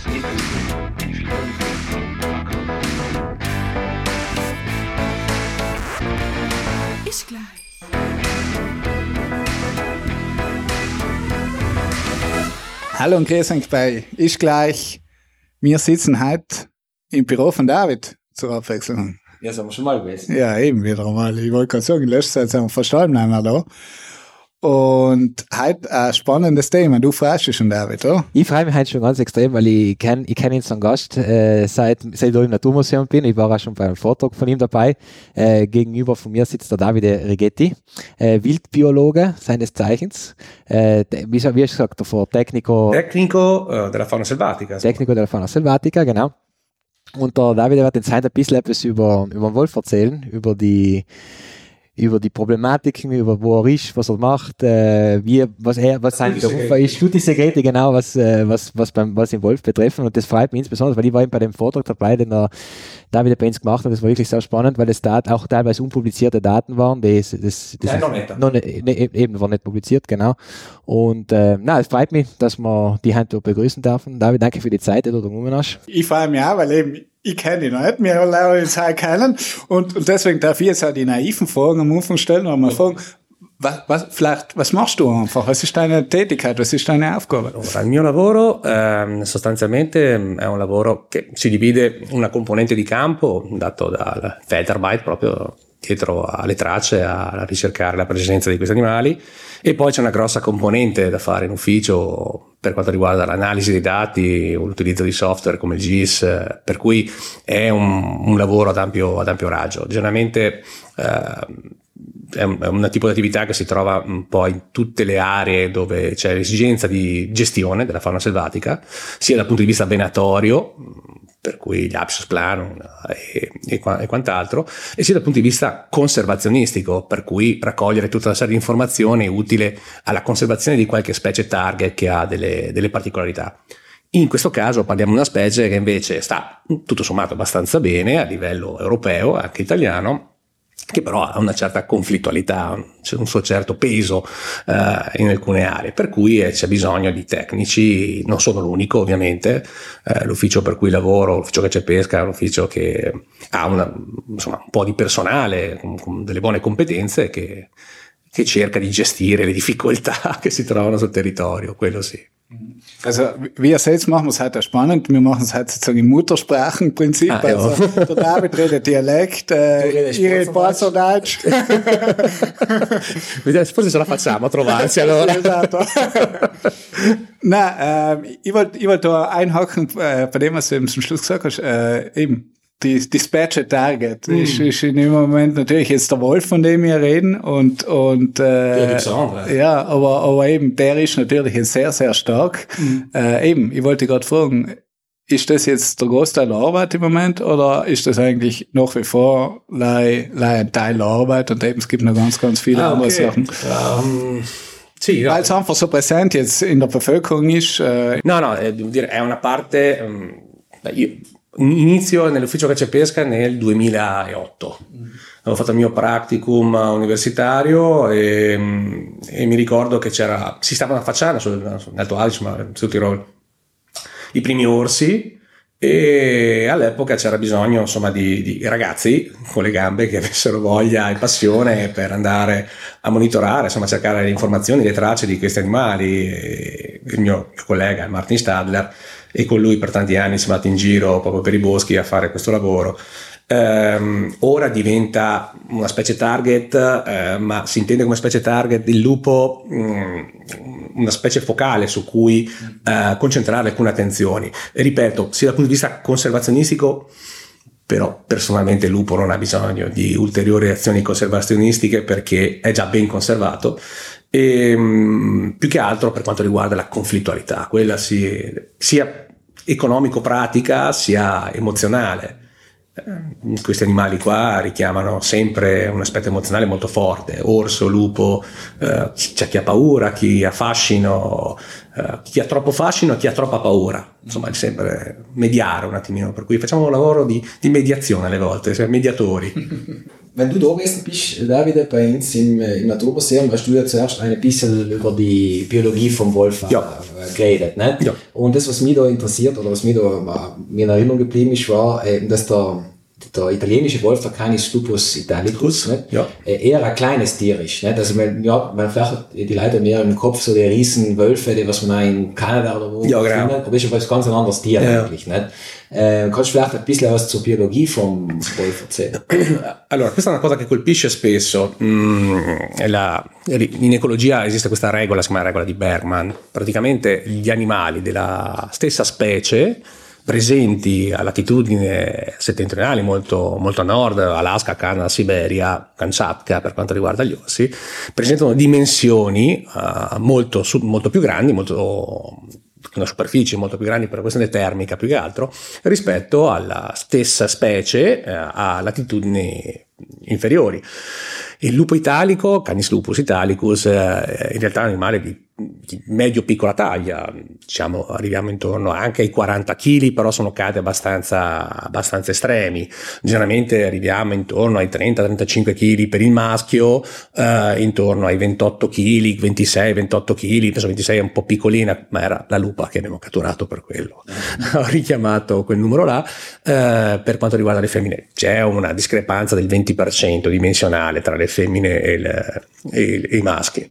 Ist gleich. Hallo und grüß euch bei Ist gleich. Wir sitzen heute im Büro von David zur Abwechslung. Ja, sind wir schon mal gewesen. Ja, eben wieder einmal. Ich wollte gerade sagen, in letzter Zeit sind wir fast allem nicht mehr da. Und heute ein spannendes Thema. Du freust dich schon, David, oder? Ich freue mich heute schon ganz extrem, weil ich kenn ihn als Gast, seit ich im Naturmuseum bin. Ich war auch schon bei einem Vortrag von ihm dabei. Gegenüber von mir sitzt der Davide Righetti, Wildbiologe seines Zeichens. Wie hast du gesagt davor? Tecnico della fauna selvatica. Tecnico della fauna selvatica, genau. Und der Davide wird jetzt heute ein bisschen etwas über den Wolf erzählen, über die Problematiken, über wo er ist, was er macht, was sein Beruf ist, Studiensekrete, genau, was den Wolf betreffen. Und das freut mich insbesondere, weil ich war eben bei dem Vortrag dabei, den der David bei uns gemacht hat. Das war wirklich sehr spannend, weil es auch teilweise unpublizierte Daten waren. Das eben war nicht publiziert, genau. Und es freut mich, dass wir die heute begrüßen dürfen. David, danke für die Zeit, die du da genommen hast. Ich freue mich auch, weil eben ich kenne ihn noch nicht, wir lernen uns heute kennen und deswegen darf ich jetzt auch die naiven Fragen am Anfang stellen und mal fragen, was machst du einfach? Was ist deine Tätigkeit? Was ist deine Aufgabe? Il mio lavoro sostanzialmente è un lavoro che si divide una componente di campo dato dal Feldarbeit proprio dietro alle tracce a ricercare la presenza di questi animali e poi c'è una grossa componente da fare in ufficio per quanto riguarda l'analisi dei dati o l'utilizzo di software come il GIS, per cui è un lavoro ad ampio raggio. Generalmente è un tipo di attività che si trova un po' in tutte le aree dove c'è l'esigenza di gestione della fauna selvatica, sia dal punto di vista venatorio, per cui gli Abschlussplanung e quant'altro, e sia dal punto di vista conservazionistico, per cui raccogliere tutta una serie di informazioni utile alla conservazione di qualche specie target che ha delle particolarità. In questo caso parliamo di una specie che invece sta tutto sommato abbastanza bene a livello europeo, anche italiano, che però ha una certa conflittualità, c'è un suo certo peso in alcune aree, per cui c'è bisogno di tecnici. Non sono l'unico ovviamente, l'ufficio per cui lavoro, l'ufficio che c'è pesca, è un ufficio che ha un po' di personale con delle buone competenze che cerca di gestire le difficoltà che si trovano sul territorio, quello sì. Also, wie ihr seht, machen wir es heute spannend. Wir machen es heute sozusagen im Muttersprachenprinzip. Also, der David redet Dialekt, ich rede Baseldeutsch. Forse ce la facciamo a trovarci allora. Esatto. Nein, ich wollte da einhaken, bei dem, was du eben zum Schluss gesagt hast, eben. Die Dispatcher Target ist in dem Moment natürlich jetzt der Wolf, von dem wir reden und ja, aber eben der ist natürlich jetzt sehr, sehr stark. Eben, ich wollte gerade fragen, ist das jetzt der Großteil der Arbeit im Moment oder ist das eigentlich nach wie vor ein Teil der Arbeit und eben es gibt noch ganz, ganz viele andere Sachen? Sì, no. Weil es einfach so präsent jetzt in der Bevölkerung ist. No, devo dire, è una parte. Io inizio nell'ufficio caccia e pesca nel 2008. Avevo fatto il mio practicum universitario e mi ricordo che si stavano affacciando nell'Alto Adige, ma sul Tirolo, i primi orsi, e all'epoca c'era bisogno insomma di ragazzi con le gambe che avessero voglia e passione per andare a monitorare, insomma cercare le informazioni, le tracce di questi animali. E il mio collega Martin Stadler, e con lui per tanti anni siamo andati in giro proprio per i boschi a fare questo lavoro. Ora diventa una specie target, ma si intende come specie target il lupo una specie focale su cui concentrare alcune attenzioni. E ripeto, sia dal punto di vista conservazionistico, però personalmente il lupo non ha bisogno di ulteriori azioni conservazionistiche perché è già ben conservato, e più che altro per quanto riguarda la conflittualità, quella sia economico-pratica sia emozionale. Questi animali qua richiamano sempre un aspetto emozionale molto forte: orso, lupo, c'è chi ha paura, chi ha fascino, chi ha troppo fascino, chi ha troppa paura, insomma è sempre mediare un attimino, per cui facciamo un lavoro di mediazione alle volte, cioè mediatori. wenn du da gewesen bist, David, bei uns im Naturmuseum, hast du ja zuerst ein bisschen über die Biologie vom Wolf geredet. Ne? Ja. Und das, was mich da interessiert, oder was mir da in Erinnerung geblieben ist, war, dass der italienische Wolf, der Canis lupus italicus, eher ein kleines Tier ist. Nicht? Also man vielleicht die Leute mehr im Kopf so die riesen Wölfe, die was man auch in Kanada oder wo findet, aber das ist ein ganz anderes Tier eigentlich. Nicht? Kannst du vielleicht ein bisschen was zur Biologie vom Wolf erzählen? Allora, questa è una cosa che colpisce spesso. In ecologia esiste questa regola, si chiama regola di Bergman. Praticamente gli animali della stessa specie presenti a latitudini settentrionali molto, molto a nord, Alaska, Canada, Siberia, Kamchatka per quanto riguarda gli orsi, presentano dimensioni molto più grandi, una superficie molto più grande per una questione termica più che altro rispetto alla stessa specie a latitudini inferiori. Il lupo italico, Canis lupus italicus, in realtà è un animale di medio-piccola taglia, diciamo arriviamo intorno anche ai 40 kg, però sono cade abbastanza estremi. Generalmente arriviamo intorno ai 30-35 kg per il maschio, intorno ai 28 kg, 26-28 kg, penso 26 è un po' piccolina, ma era la lupa che abbiamo catturato per quello. Ho richiamato quel numero là. Per quanto riguarda le femmine c'è una discrepanza del 20% dimensionale tra le femmine e i maschi.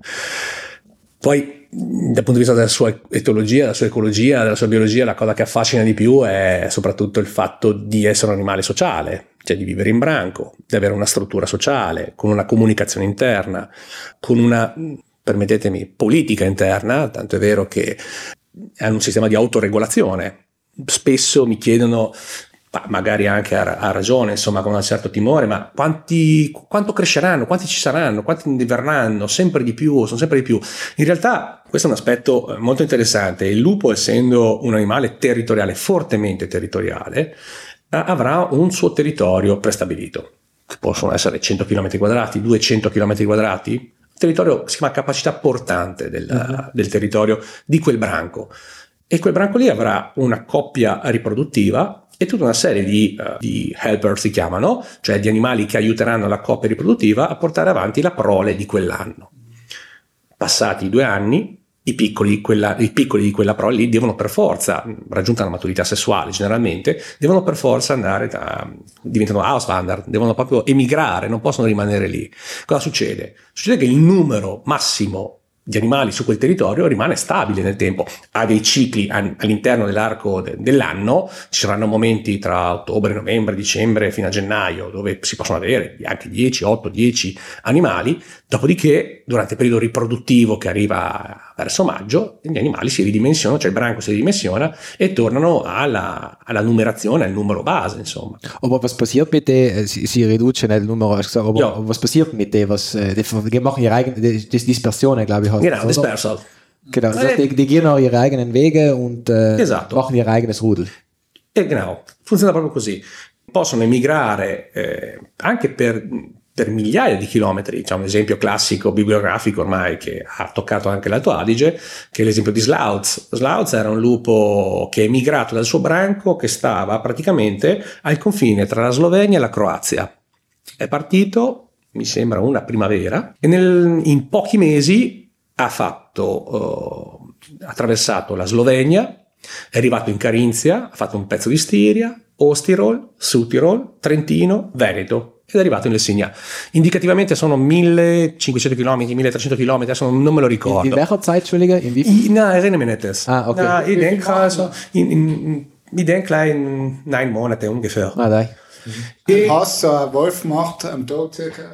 Poi dal punto di vista della sua etologia, della sua ecologia, della sua biologia, la cosa che affascina di più è soprattutto il fatto di essere un animale sociale, cioè di vivere in branco, di avere una struttura sociale, con una comunicazione interna, con una, permettetemi, politica interna, tanto è vero che hanno un sistema di autoregolazione. Spesso mi chiedono, magari anche ha ragione, insomma, con un certo timore, ma quanto cresceranno, quanti ci saranno, quanti ne verranno, sempre di più, sono sempre di più. In realtà questo è un aspetto molto interessante. Il lupo, essendo un animale territoriale, fortemente territoriale, avrà un suo territorio prestabilito, che possono essere 100 km quadrati, 200 km quadrati, un territorio che si chiama capacità portante del territorio di quel branco. E quel branco lì avrà una coppia riproduttiva e tutta una serie di helper, si chiamano, cioè di animali che aiuteranno la coppia riproduttiva a portare avanti la prole di quell'anno. Passati 2 anni, i piccoli di quella prole lì devono per forza, raggiunta la maturità sessuale generalmente, devono per forza diventano Auswanderer, devono proprio emigrare, non possono rimanere lì. Cosa succede? Succede che il numero massimo di animali su quel territorio rimane stabile nel tempo, ha dei cicli all'interno dell'arco dell'anno, ci saranno momenti tra ottobre, novembre, dicembre fino a gennaio dove si possono avere anche 8-10 animali, dopodiché durante il periodo riproduttivo che arriva verso maggio gli animali si ridimensionano, cioè il branco si ridimensiona e tornano alla numerazione, al numero base, insomma. Aber was passiert mit denen? Sie reduzieren il numero, aber was passiert mit denen? Die machen ihre eigene Dispersion, glaube ich. Genau, Dispersal. Genau, das heißt, die gehen auch ihre eigenen Wege und machen ihr eigenes Rudel. Genau, funziona proprio così. Possono emigrare anche per migliaia di chilometri. C'è un esempio classico bibliografico ormai che ha toccato anche l'Alto Adige, che è l'esempio di Slauz. Slauz era un lupo che è emigrato dal suo branco, che stava praticamente al confine tra la Slovenia e la Croazia. È partito, mi sembra, una primavera e in pochi mesi ha attraversato la Slovenia, è arrivato in Carinzia, ha fatto un pezzo di Stiria, Ostirol, Südtirol, Trentino, Veneto ed è arrivato in Lessinia. Indicativamente sono 1500 km, 1300 km, adesso non me lo ricordo. In welcher Zeit, Entschuldige? In wie viel? Na, erinnere mich nicht das. Ah, okay. Na, ich denke also, ich denke in 9 Monate ungefähr. Ah, dai. Hast du einen Wolf gemacht am Tag circa?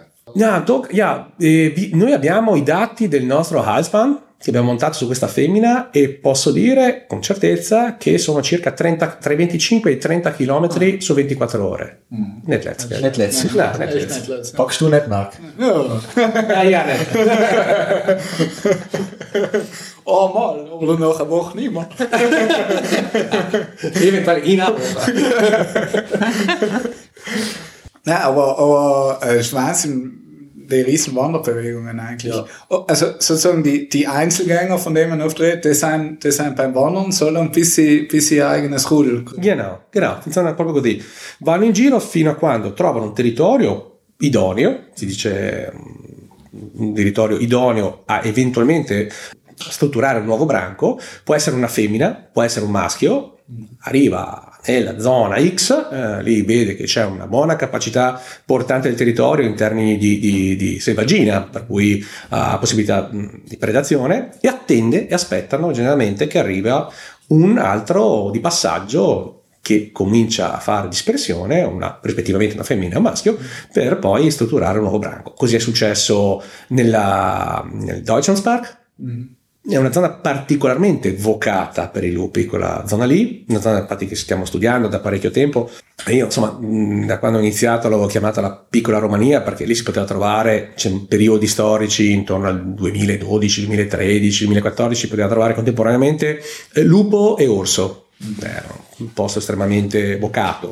Noi abbiamo i dati del nostro Halsband che abbiamo montato su questa femmina e posso dire con certezza che sono circa tra i 25 e i 30 km su 24 ore. Nicht letztlich. Nicht letztlich. Packst du nicht, Marc? Ja, nicht. Oh mal, oder nach einer Woche nicht mehr. Eventuell in einer Woche. Nein, aber ich weiß, die riesen Wanderbewegungen eigentlich. Ja. Also sozusagen die Einzelgänger, von denen man oft redet, die sind beim Wandern so lange, bis sie ihr eigenes Rudel. Genau, funziona proprio così. Vanno in giro fino a quando trovano un territorio idoneo, si dice un territorio idoneo a eventualmente strutturare un nuovo branco, può essere una femmina, può essere un maschio, arriva nella zona X, lì vede che c'è una buona capacità portante del territorio in termini di selvaggina, per cui ha possibilità di predazione, e attende e aspettano generalmente che arriva un altro di passaggio che comincia a fare dispersione, rispettivamente una femmina e un maschio, per poi strutturare un nuovo branco. Così è successo nel Deutschlandspark. È una zona particolarmente vocata per i lupi, quella zona lì, una zona infatti che stiamo studiando da parecchio tempo. E io, insomma, da quando ho iniziato l'avevo chiamata la piccola Romania, perché lì si poteva trovare, c'è periodi storici intorno al 2012, 2013, 2014, si poteva trovare contemporaneamente lupo e orso. Era un posto estremamente vocato,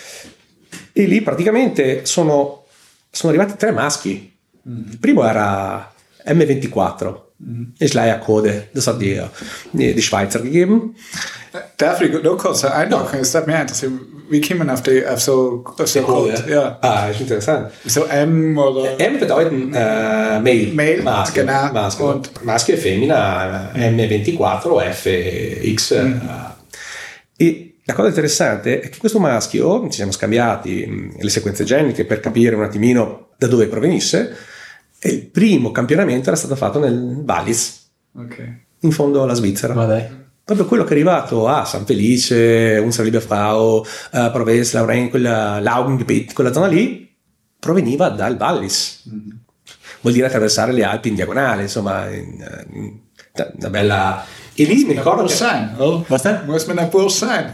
e lì praticamente sono arrivati 3 maschi. Il primo era M24, Schleiercode, das hat die Schweizer gegeben. Darf ich nur kurz einhaken? Es hat mich interessiert, wie kommen auf so Code? Ja. Ah, ist interessant. So M oder? M bedeuten Male, Maschio, genau. Maschio. Und Maschio e femmina, M24 o FX. E la cosa interessante è che questo maschio, ci siamo scambiati le sequenze geniche per capire un attimino da dove provenisse, e il primo campionamento era stato fatto nel Wallis, in fondo alla Svizzera. Proprio quello che è arrivato a San Felice, Unser Liebe Frau, Provence, Lauren, Laugengebiet, quella zona lì, proveniva dal Wallis. Vuol dire attraversare le Alpi in diagonale, insomma, una bella... E lì mi ricordo Muss man ein Burs sein?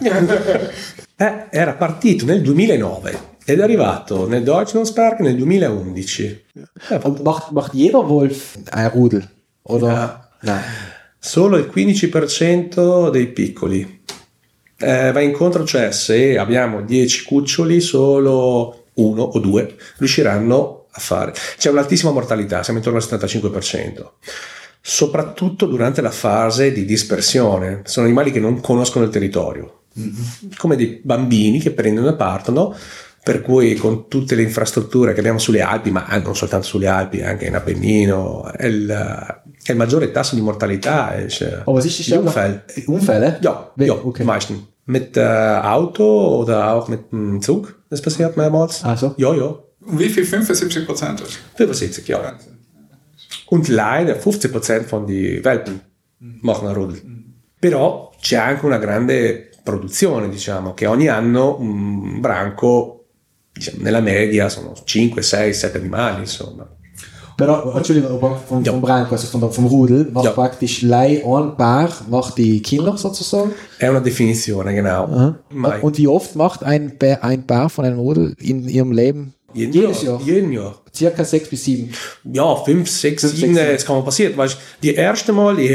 Era partito nel 2009 ed è arrivato nel Deutschlandspark nel 2011. Macht jeder Wolf ein Rudel? Oder? Nein. Solo il 15% dei piccoli va incontro, cioè se abbiamo 10 cuccioli solo 1 o 2 riusciranno a fare. C'è un'altissima mortalità, siamo intorno al 75%. Soprattutto durante la fase di dispersione. Sono animali che non conoscono il territorio, come dei bambini che prendono e partono, per cui con tutte le infrastrutture che abbiamo sulle Alpi, ma non soltanto sulle Alpi, anche in Appennino, è il maggiore tasso di mortalità. Was ist die Unfall. Unfälle? Ja, okay. Meistens. Mit Auto oder auch mit dem Zug. Das passiert mehrmals. Ah, so? Ja. Wie viel? 75%? 75, ja. Und leider 50% von die Welpen machen a Rudel. Però c'è anche una grande produzione, diciamo, che ogni anno un branco, diciamo, nella media sono 5, 6, 7 animali, insomma. Però, Entschuldigung, vom Branco, also vom Rudel, macht praktisch ein Paar, macht die Kinder sozusagen? È una definizione, genau. Und wie oft macht ein Paar von einem Rudel in ihrem Leben? Jedes Jahr. Jeden Jahr. Circa 6 bis 7. Ja, 5, 6, 7, es kann mal passieren. Weißt, die erste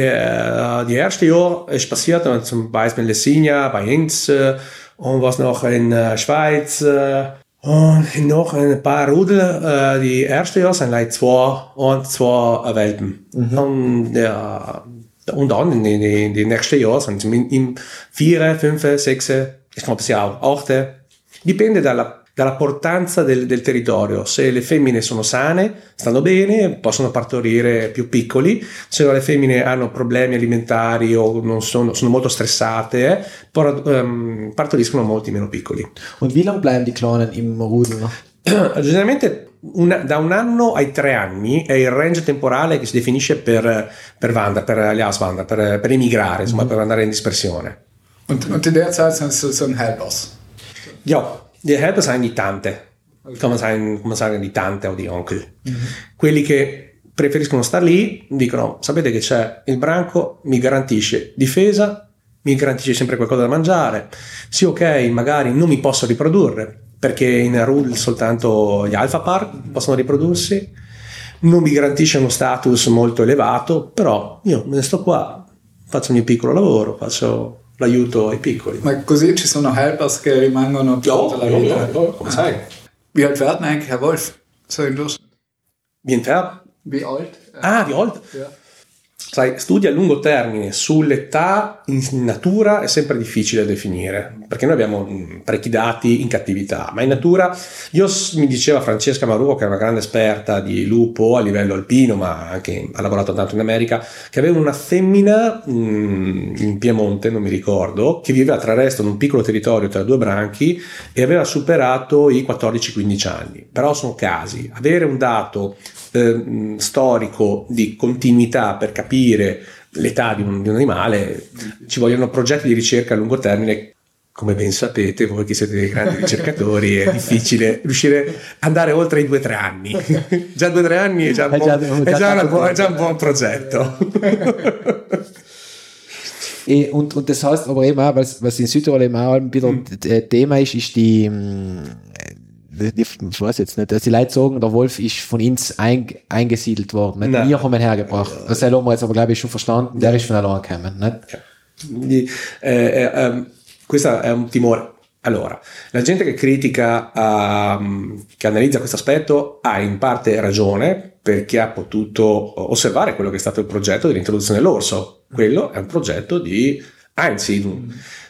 Jahr ist passiert, zum Beispiel in Lessigna, bei uns, und was noch in Schweiz, und noch ein paar Rudel. Die erste Jahr sind like 2 Welpen. Und dann in die nächsten Jahre sind im 4, 5, 6, es kann passieren auch 8. Dipende dalla portanza del territorio. Se le femmine sono sane, stanno bene, possono partorire più piccoli. Se le femmine hanno problemi alimentari o non sono molto stressate, partoriscono molti meno piccoli. Und wie lange bleiben die Kleinen im Rudel noch? Generalmente da 1 anno ai 3 anni è il range temporale che si definisce per gli Auswander, per emigrare, insomma, per andare in dispersione. Und in der Zeit sind sie so ein Helpers. Ja. Die Helper sind die Tante, kann man sagen die Tante o di Onkel. Quelli che preferiscono star lì dicono: sapete che c'è il branco, mi garantisce difesa, mi garantisce sempre qualcosa da mangiare. Sì, ok, magari non mi posso riprodurre perché in Rudel soltanto gli alpha par possono riprodursi, non mi garantisce uno status molto elevato, però io me ne sto qua, faccio il mio piccolo lavoro, faccio l'aiuto ai piccoli. Ma così ci sono helpers che rimangono tutta la vita. Come sai? Wie alt werden eigentlich Herr Wolf? So in Durchschnitt. Wie alt? Wie alt? Wie alt? Ja. Sai, studi a lungo termine sull'età in natura è sempre difficile definire, perché noi abbiamo parecchi dati in cattività, ma in natura, mi diceva Francesca Maruo, che è una grande esperta di lupo a livello alpino, ma anche ha lavorato tanto in America, che aveva una femmina in Piemonte, non mi ricordo, che viveva tra l'altro in un piccolo territorio tra due branchi e aveva superato i 14-15 anni. Però sono casi. Avere un dato storico di continuità per capire l'età di un animale, ci vogliono progetti di ricerca a lungo termine. Come ben sapete, voi che siete dei grandi ricercatori, è difficile riuscire ad andare oltre i 2-3 anni. Già 2-3 anni è già un buon progetto. Und das heißt aber eben auch, was in Südtirol eben auch wieder Thema ist die ich weiß jetzt nicht, dass die Leute sagen, der Wolf ist von uns eingesiedelt worden. Nicht? Wir haben ihn hergebracht. Das haben wir jetzt aber, glaube ich, schon verstanden. Der ist von allein gekommen. Nicht? Questo è un timore. Allora, la gente che critica, che analizza questo aspetto ha in parte ragione, perché ha potuto osservare quello che è stato il progetto dell'introduzione dell'orso. Quello è un progetto di Einsiedlung.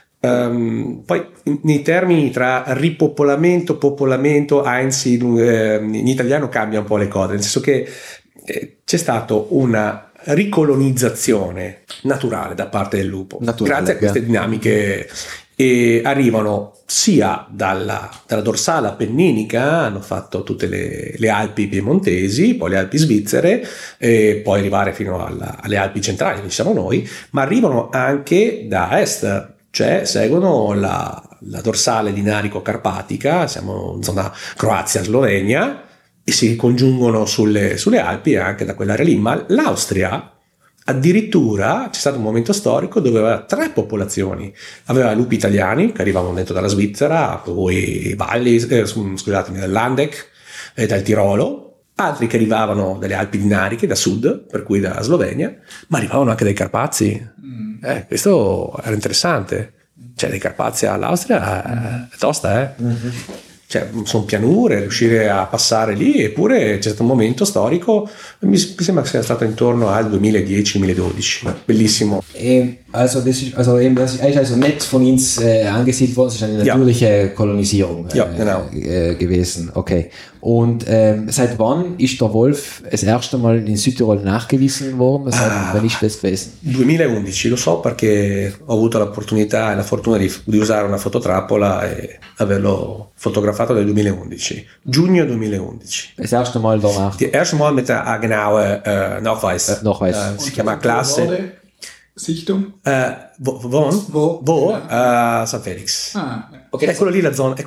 Poi nei termini tra ripopolamento, popolamento, Einsiedlung, in italiano cambia un po' le cose, nel senso che c'è stato una ricolonizzazione naturale da parte del lupo, grazie a queste dinamiche, e arrivano sia dalla dorsale appenninica, hanno fatto tutte le Alpi piemontesi, poi le Alpi svizzere, e poi arrivare fino alle Alpi centrali, dove siamo noi, ma arrivano anche da est, cioè seguono la dorsale dinarico-carpatica, siamo in zona Croazia-Slovenia, e si congiungono sulle Alpi anche da quell'area lì. Ma l'Austria addirittura c'è stato un momento storico dove aveva 3 popolazioni, aveva lupi italiani che arrivavano dentro dalla Svizzera, poi valli, scusatemi, dal Landeck e dal Tirolo, altri che arrivavano dalle Alpi dinariche da sud, per cui dalla Slovenia, ma arrivavano anche dai Carpazi. Questo era interessante, cioè dai Carpazi all'Austria è tosta, cioè sono pianure, riuscire a passare lì, eppure c'è stato un momento storico, mi sembra che sia stato intorno al 2010-2012, bellissimo. Also das ist also nicht von uns angesiedelt worden, es ist eine natürliche Kolonisierung genau. Gewesen. Okay. Und seit wann ist der Wolf das erste Mal in Südtirol nachgewiesen worden? Wann ist das gewesen? 2011, lo so perché ho avuto l'opportunità e la fortuna di usare una fototrappola e averlo fotografato nel 2011, giugno 2011. Das erste Mal danach? Das erste Mal mit der genauen Nachweis. Si chiama Klasse. Sichtung? Wo? St. Felix. Okay. È quella lì la zona.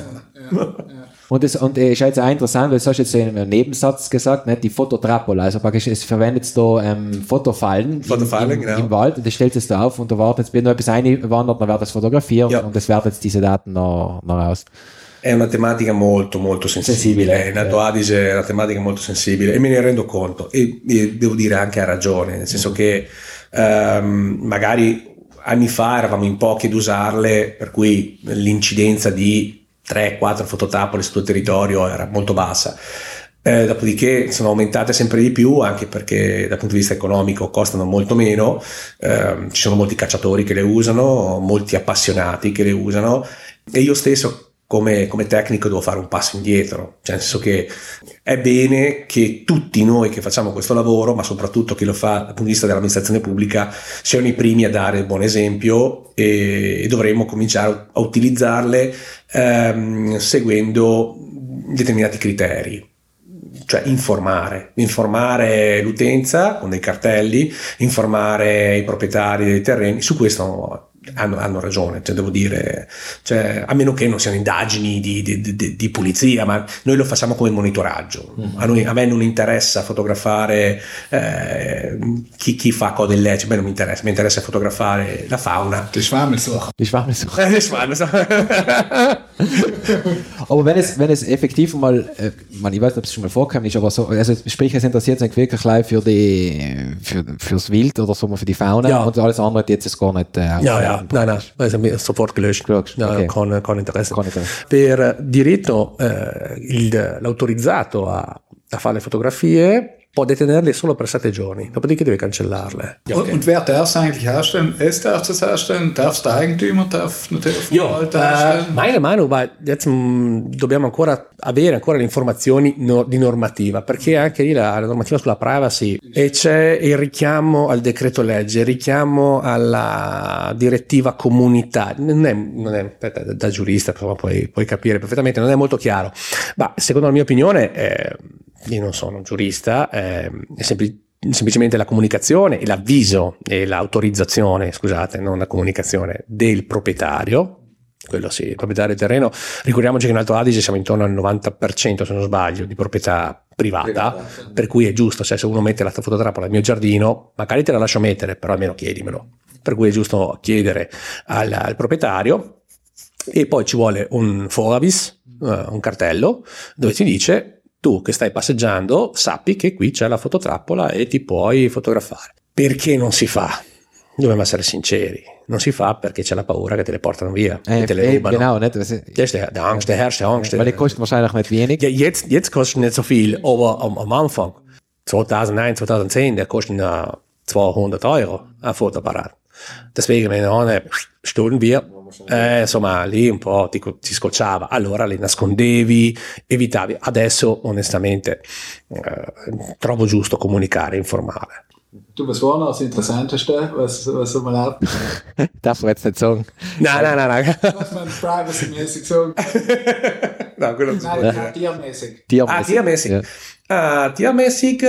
Und es ist jetzt auch interessant, weil du hast jetzt so in einem Nebensatz gesagt, nicht, die Fototrappola, also praktisch es verwendet da Fotofallen genau. Im Wald, und das stellt es da auf und da wartet jetzt, wenn noch etwas einwandert, dann wird das fotografiert und es werden jetzt diese Daten noch raus. È una tematica molto molto sensibile. In Alto Adige è una tematica molto sensibile e me ne rendo conto, e devo dire anche a ragione, nel senso che magari anni fa eravamo in pochi ad usarle, per cui l'incidenza di 3-4 fototrappole sul tuo territorio era molto bassa. Dopodiché sono aumentate sempre di più, anche perché dal punto di vista economico costano molto meno, ci sono molti cacciatori che le usano, molti appassionati che le usano, e io stesso come tecnico devo fare un passo indietro, cioè nel senso che è bene che tutti noi che facciamo questo lavoro, ma soprattutto chi lo fa dal punto di vista dell'amministrazione pubblica, siano i primi a dare il buon esempio, e dovremmo cominciare a utilizzarle seguendo determinati criteri. Cioè informare l'utenza con dei cartelli, informare i proprietari dei terreni. Su questo hanno ragione, cioè devo dire, cioè, a meno che non siano indagini di pulizia, ma noi lo facciamo come monitoraggio. A me non interessa fotografare chi fa cose illecite, a me non mi interessa fotografare la fauna. Die Schwammelsuche. Aber wenn es effektiv mal, ich weiß nicht, ob es schon mal vorgekommen ist, aber so, also sprich, es interessiert sich wirklich live fürs Wild oder so, für die Fauna, und alles andere jetzt ist gar nicht. Nein, sofort gelöscht. Okay. Con interesse. Per diritto l'autorizzato a fare le fotografie può detenerli solo per 7 giorni, dopodiché deve cancellarle. Und wer darf es eigentlich herstellen? Es darf es herstellen? Darf es der Eigentümer? Darf natürlich vom Wald herstellen? Meine Meinung war, jetzt dobbiamo ancora avere le informazioni di normativa, perché anche lì la normativa sulla privacy e c'è il richiamo al decreto legge, il richiamo alla direttiva comunitaria, non è da giurista, insomma, puoi capire perfettamente, non è molto chiaro, ma secondo la mia opinione, io non sono un giurista, è semplicemente la comunicazione e l'avviso e l'autorizzazione, scusate, non la comunicazione del proprietario, quello sì, il proprietario del terreno. Ricordiamoci che in Alto Adige siamo intorno al 90%, se non sbaglio, di proprietà privata, per cui è giusto, cioè se uno mette la fototrappola nel mio giardino, magari te la lascio mettere, però almeno chiedimelo, per cui è giusto chiedere al proprietario. E poi ci vuole un fogavis, un cartello dove ti dice: tu che stai passeggiando sappi che qui c'è la fototrappola e ti puoi fotografare. Perché non si fa? Dobbiamo essere sinceri, non si fa perché c'è la paura che te le portano via, che te le rubano. Genau, nicht? Der Angst, der herrscht, der Angst. Weil die kosten wahrscheinlich nicht wenig. Ja, jetzt kostet nicht so viel, aber am Anfang, 2009, 2010, der kostet 200 Euro ein Fotoapparat. Deswegen, meine Nonne, stunden wir, insomma, lì un po' ti scocciava, allora le nascondevi, evitavi. Adesso, onestamente, trovo giusto comunicare, informare. Du, was war noch das Interessanteste, was man hat? Darf man jetzt nicht sagen. Nein. Was man privacy-mäßig sagen? No, quello Nein, tiermäßig. Tiermäßig. Ja. Tiermäßig,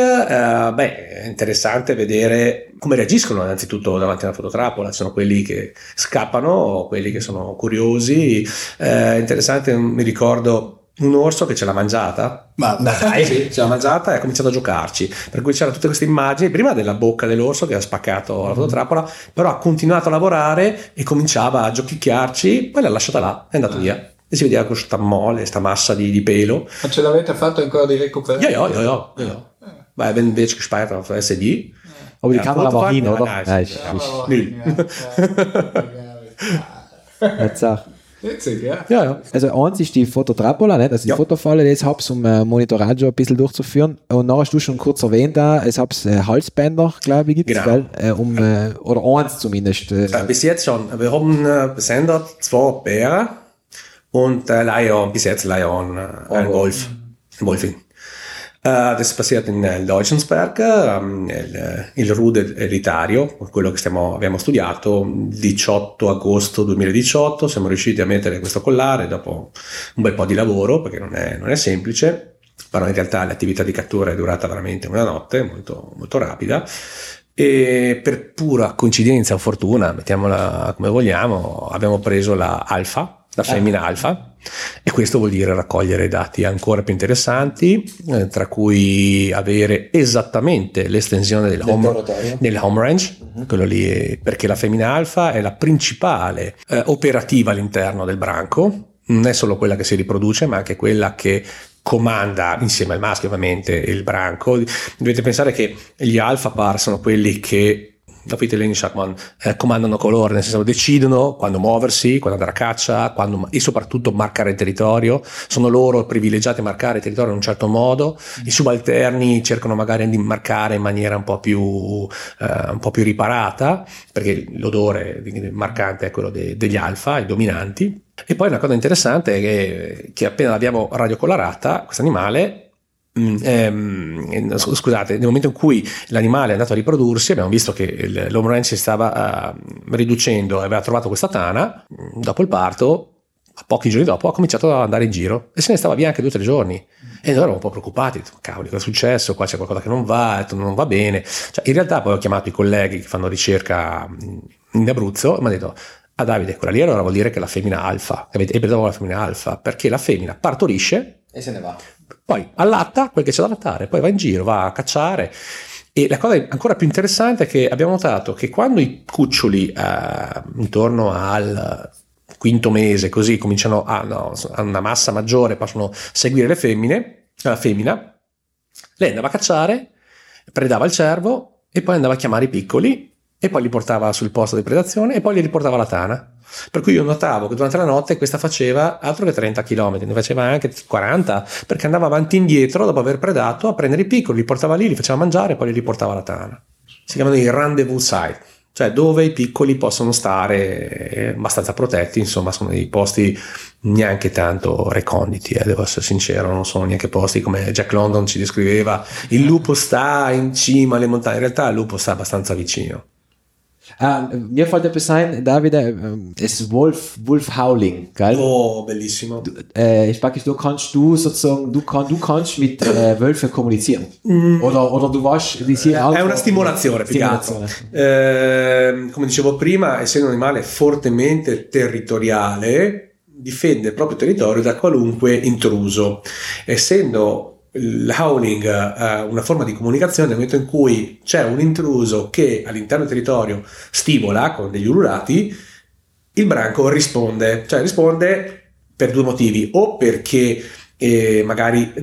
è interessante vedere come reagiscono innanzitutto davanti a una fototrappola. Ci sono quelli che scappano, quelli che sono curiosi. Interessante, mi ricordo un orso che ce l'ha mangiata, sì, ce l'ha mangiata e ha cominciato a giocarci, per cui c'erano tutte queste immagini prima della bocca dell'orso che ha spaccato la fototrappola, però ha continuato a lavorare e cominciava a giochicchiarci, poi l'ha lasciata là, è andato via e si vedeva questa mole, sta massa di pelo. Ma ce l'avete fatto ancora di recuperare? Ja. Weil wenn wir gespeichert auf SD. Aber die Kamera war hin, oder? Nein, Nicht so. Witzig, ja. Ja. Also eins ist die Fototrappola, nicht? Also die Fotofalle, die ich habe, um Monitoraggio ein bisschen durchzuführen. Und nachher hast du schon kurz erwähnt, ich habe Halsbänder, glaube ich, gibt es, genau. oder eins zumindest. Bis jetzt schon. Wir haben besendet 2 Bären und bis jetzt Lion, ein Wolf, ein Wolfing. Das ist passiert in Deutschensberg, il Rude elitario, quello che abbiamo studiato, il 18 agosto 2018 siamo riusciti a mettere questo collare dopo un bel po' di lavoro, perché non è semplice, però in realtà l'attività di cattura è durata veramente una notte, molto, molto rapida, e per pura coincidenza o fortuna, mettiamola come vogliamo, abbiamo preso la femmina alfa, e questo vuol dire raccogliere dati ancora più interessanti, tra cui avere esattamente l'estensione del home range, quello lì, perché la femmina alfa è la principale operativa all'interno del branco, non è solo quella che si riproduce, ma anche quella che comanda insieme al maschio ovviamente il branco. Dovete pensare che gli alfa par sono quelli che comandano colore, nel senso decidono quando muoversi, quando andare a caccia, e soprattutto marcare il territorio. Sono loro privilegiati a marcare il territorio in un certo modo. I subalterni cercano magari di marcare in maniera un po' più riparata, perché l'odore marcante è quello degli alfa, i dominanti. E poi una cosa interessante è che appena l'abbiamo radiocolorata, questo animale, scusate, nel momento in cui l'animale è andato a riprodursi, abbiamo visto che l'home range si stava riducendo e aveva trovato questa tana. Dopo il parto, a pochi giorni dopo, ha cominciato ad andare in giro e se ne stava via anche 2 o 3 giorni, e noi eravamo un po' preoccupati, cavoli, cosa è successo? Qua c'è qualcosa che non va bene. Cioè, in realtà poi ho chiamato i colleghi che fanno ricerca in Abruzzo e mi hanno detto: Davide, quella lì allora vuol dire che la femmina alfa, avete preso la femmina alfa, perché la femmina partorisce e se ne va, poi allatta quel che c'è da allattare, poi va in giro, va a cacciare. E la cosa ancora più interessante è che abbiamo notato che quando i cuccioli intorno al 5° mese così cominciano a una massa maggiore, possono seguire la femmina, lei andava a cacciare, predava il cervo e poi andava a chiamare i piccoli e poi li portava sul posto di predazione e poi li riportava alla tana. Per cui io notavo che durante la notte questa faceva altro che 30 km, ne faceva anche 40, perché andava avanti e indietro dopo aver predato a prendere i piccoli, li portava lì, li faceva mangiare e poi li riportava alla tana. Si chiamano i rendezvous site, cioè dove i piccoli possono stare abbastanza protetti, insomma sono dei posti neanche tanto reconditi, devo essere sincero, non sono neanche posti come Jack London ci descriveva, il lupo sta in cima alle montagne, in realtà il lupo sta abbastanza vicino. Mir fällt etwas ein, Davide, es ist Wolf Howling, gell? Oh, bellissimo. Du kannst mit Wölfen kommunizieren. Oder du weißt, die sind è una stimolazione, più che altro. Come dicevo prima, essendo un animale fortemente territoriale, difende il proprio territorio da qualunque intruso. Essendo il howling una forma di comunicazione, nel momento in cui c'è un intruso che all'interno del territorio stimola con degli ululati, il branco risponde per due motivi: o perché magari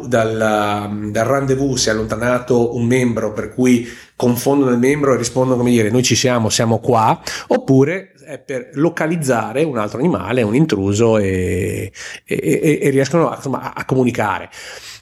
dal rendezvous si è allontanato un membro, per cui confondono il membro e rispondono come dire noi ci siamo qua, oppure è per localizzare un altro animale, un intruso e riescono a comunicare.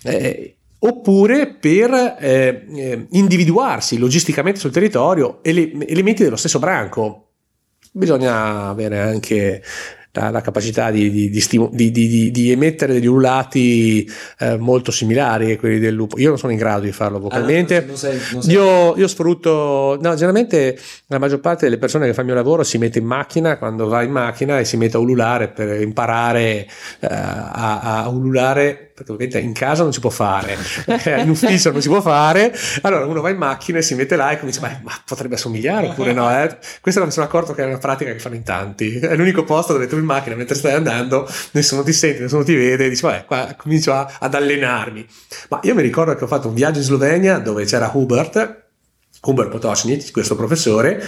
Oppure per individuarsi logisticamente sul territorio elementi dello stesso branco. Bisogna avere anche la capacità di emettere degli ululati molto similari a quelli del lupo. Io non sono in grado di farlo vocalmente. Non sei. Io sfrutto, generalmente la maggior parte delle persone che fa il mio lavoro si mette in macchina, quando va in macchina, e si mette a ululare per imparare a ululare, perché ovviamente in casa non si può fare, in ufficio non si può fare. Allora uno va in macchina e si mette là e comincia, ma potrebbe assomigliare oppure no? Questo mi sono accorto che è una pratica che fanno in tanti. È l'unico posto dove tu in macchina, mentre stai andando, nessuno ti sente, nessuno ti vede, e dici qua comincio ad allenarmi. Ma io mi ricordo che ho fatto un viaggio in Slovenia dove c'era Hubert Potocnik, questo professore,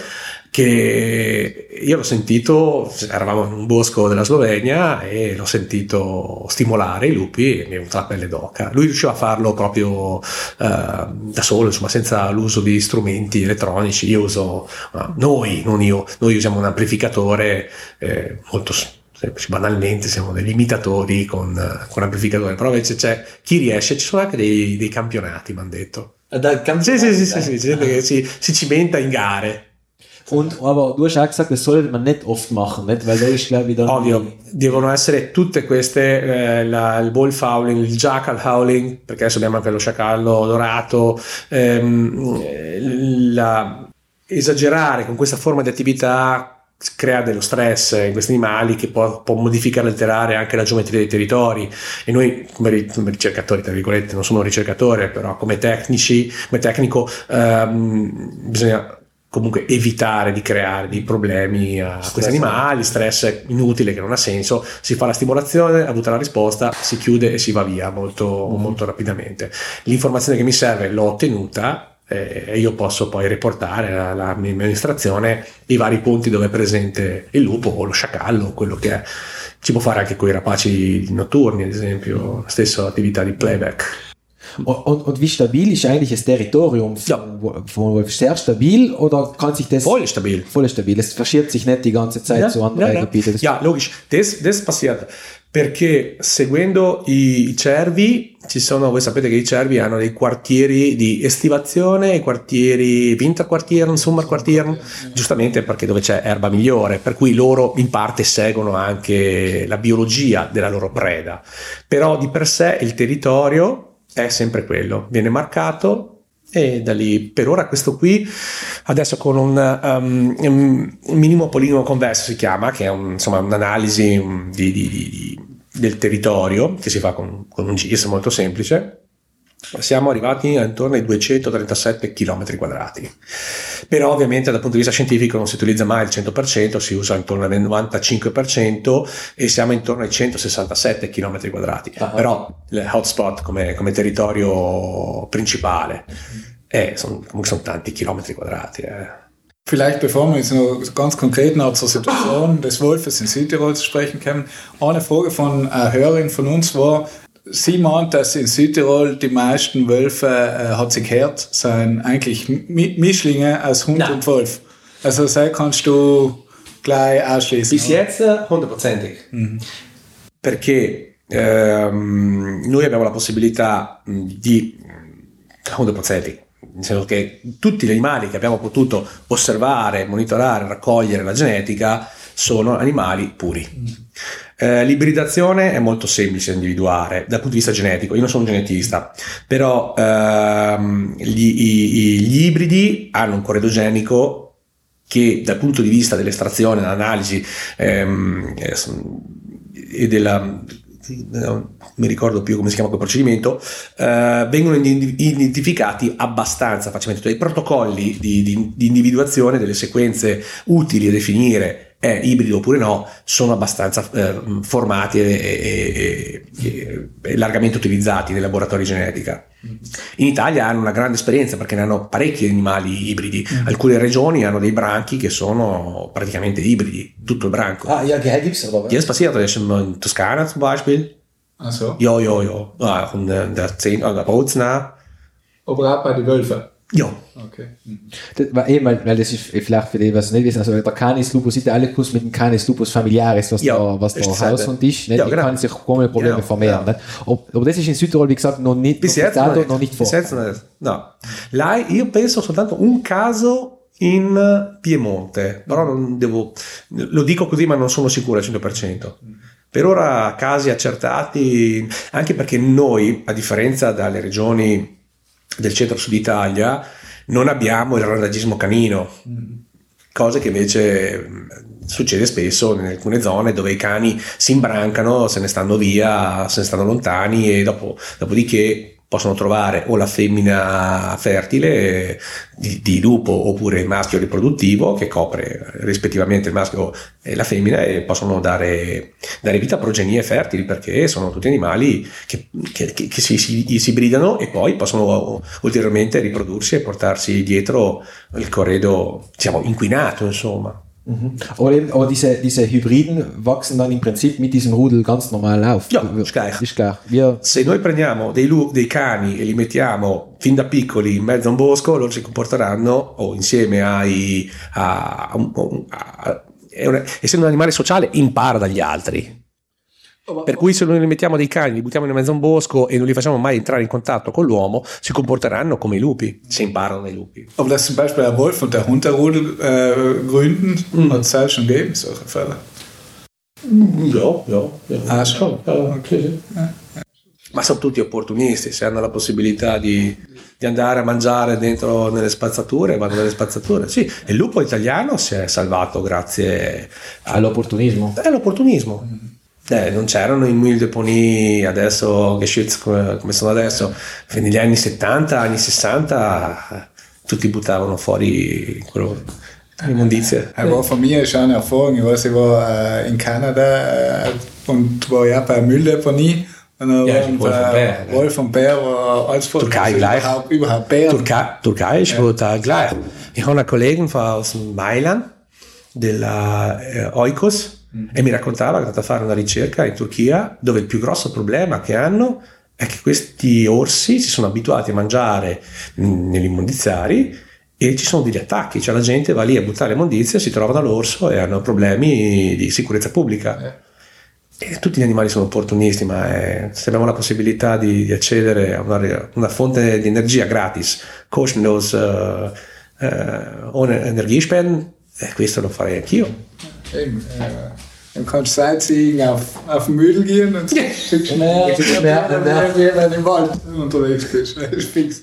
che io l'ho sentito, eravamo in un bosco della Slovenia e l'ho sentito stimolare i lupi e mi è venuta la pelle d'oca. Lui riusciva a farlo proprio da solo, insomma, senza l'uso di strumenti elettronici. Noi usiamo un amplificatore molto semplice, banalmente siamo degli imitatori con amplificatore, però invece c'è chi riesce, ci sono anche dei campionati, mi hanno detto. Sì, gente che si cimenta in gare. Aber du hast auch gesagt, das sollte man nicht oft machen, nicht? Weil da ist, glaube ich, dann... Ovvio, devono essere tutte queste, il wolf howling, il jackal howling, perché adesso abbiamo anche lo sciacallo dorato, esagerare con questa forma di attività crea dello stress in questi animali che può modificare e alterare anche la geometria dei territori, e noi come ricercatori, tra virgolette, non sono un ricercatore, però come tecnico bisogna comunque evitare di creare dei problemi a questi animali, stress inutile che non ha senso. Si fa la stimolazione, avuta la risposta, si chiude e si va via molto rapidamente. L'informazione che mi serve l'ho ottenuta e io posso poi riportare alla mia amministrazione i vari punti dove è presente il lupo o lo sciacallo, quello che è. Si può fare anche con i rapaci notturni, ad esempio, la stessa attività di playback. Und wie stabil ist eigentlich das Territorium von Wolf? Sehr stabil oder kann sich das... Voll stabil. Es verschiebt sich nicht die ganze Zeit zu anderen Gebieten. Ja, logisch. Das passiert perché seguendo i cervi voi sapete che i cervi hanno dei quartieri di estivazione, i quartieri Winterquartieren, Sommerquartieren, giustamente perché dove c'è erba migliore, per cui loro in parte seguono anche la biologia della loro preda, però di per sé il territorio è sempre quello, viene marcato, e da lì per ora questo qui adesso con un minimo polinimo convesso si chiama, che è un'analisi del territorio che si fa con un GIS molto semplice. Siamo arrivati intorno ai 237 km quadrati, però ovviamente dal punto di vista scientifico non si utilizza mai il 100%, si usa intorno al 95% e siamo intorno ai 167 km quadrati. Però il hotspot come territorio principale sono tanti chilometri quadrati. Vielleicht bevor wir jetzt noch ganz konkret noch zur Situation des Wolfes in Südtirol zu sprechen kommen, eine Frage von einer Hörerin von uns war, sie meint, dass in Südtirol die meisten Wölfe, hat sie gehört, sind eigentlich Mischlinge aus Hund und Wolf. Also sei kannst du gleich ausschließen. Bis jetzt 100%. Perché noi abbiamo la possibilità di 100%, nel senso che tutti gli animali che abbiamo potuto osservare, monitorare, raccogliere la genetica sono animali puri. L'ibridazione è molto semplice da individuare dal punto di vista genetico. Io non sono un genetista, però gli ibridi hanno un corredo genico che dal punto di vista dell'estrazione, dell'analisi e della... non mi ricordo più come si chiama quel procedimento, vengono identificati abbastanza facilmente. Dei protocolli di individuazione delle sequenze utili a definire è ibrido oppure no sono abbastanza formati e largamente utilizzati nei laboratori di genetica. In Italia hanno una grande esperienza perché ne hanno parecchi animali ibridi. Alcune regioni hanno dei branchi che sono praticamente ibridi, tutto il branco. Ja, gibt's aber. Hier ist passiert, in Toskana zum Beispiel. Ach so. Ja. Auch in der 10 Bozen. Aber auch bei den Wölfen. Ja. Okay. Weil das ist vielleicht für die, was nicht wissen, also der Canis lupus italicus mit dem Canis lupus familiaris, was der Haushund ist, nicht? Die kann sich ohne Probleme vermehren. Nicht? Aber das ist in Südtirol, wie gesagt, noch nicht, bis jetzt noch nicht vor. No. Là io penso soltanto un caso in Piemonte, però non devo, lo dico così ma non sono sicuro al 100%. Per ora casi accertati, anche perché noi, a differenza dalle regioni del centro-sud Italia, non abbiamo il randagismo canino, cosa che invece succede spesso in alcune zone dove i cani si imbrancano, se ne stanno via, se ne stanno lontani e dopodiché possono trovare o la femmina fertile di lupo oppure il maschio riproduttivo che copre rispettivamente il maschio e la femmina e possono dare vita a progenie fertili perché sono tutti animali che si ibridano e poi possono ulteriormente riprodursi e portarsi dietro il corredo, diciamo, inquinato, insomma. Aber diese Hybriden wachsen dann im Prinzip mit diesem Rudel ganz normal auf. Ja, ist gleich. Se noi prendiamo dei cani e li mettiamo fin da piccoli in mezzo a un bosco, loro si comporteranno o insieme essendo un animale sociale impara dagli altri. Per cui se noi li mettiamo dei cani, li buttiamo in mezzo a un bosco e non li facciamo mai entrare in contatto con l'uomo, si comporteranno come i lupi, si imparano dai lupi. Aber dass zum Beispiel der Wolf und der Hund der Rudel gründen, hat es halt schon gegeben, solche Fälle. Ja. Ah, schon. Okay. Ma sono tutti opportunisti, se hanno la possibilità di andare a mangiare dentro nelle spazzature, vanno nelle spazzature. Sì, il lupo italiano si è salvato grazie all'opportunismo. All'opportunismo. Non c'erano i Mille Deponie adesso geschützt come sono adesso. Negli anni 70, anni 60 tutti buttavano fuori l'immondizia. War von mir schon eine Erfahrung. Ich weiß, ich war in Kanada und war ja bei Mülldeponie. Und Wolf und Bär war alles voll. Türkei gleich. Überhaupt Bär. Türkei ist total gleich. Ich habe einen Kollegen aus Mailand, della Oikos, e mi raccontava che è andato a fare una ricerca in Turchia dove il più grosso problema che hanno è che questi orsi si sono abituati a mangiare negli immondiziari e ci sono degli attacchi, cioè la gente va lì a buttare immondizia, si trovano l'orso e hanno problemi di sicurezza pubblica. E tutti gli animali sono opportunisti, ma se abbiamo la possibilità di accedere a una fonte di energia gratis, kostenlos ohne Energiespenden, questo lo farei anch'io. Dann kannst du Sightseeing auf den Müll gehen und schickst wenn du im Wald unterwegs bist. Das ist fix.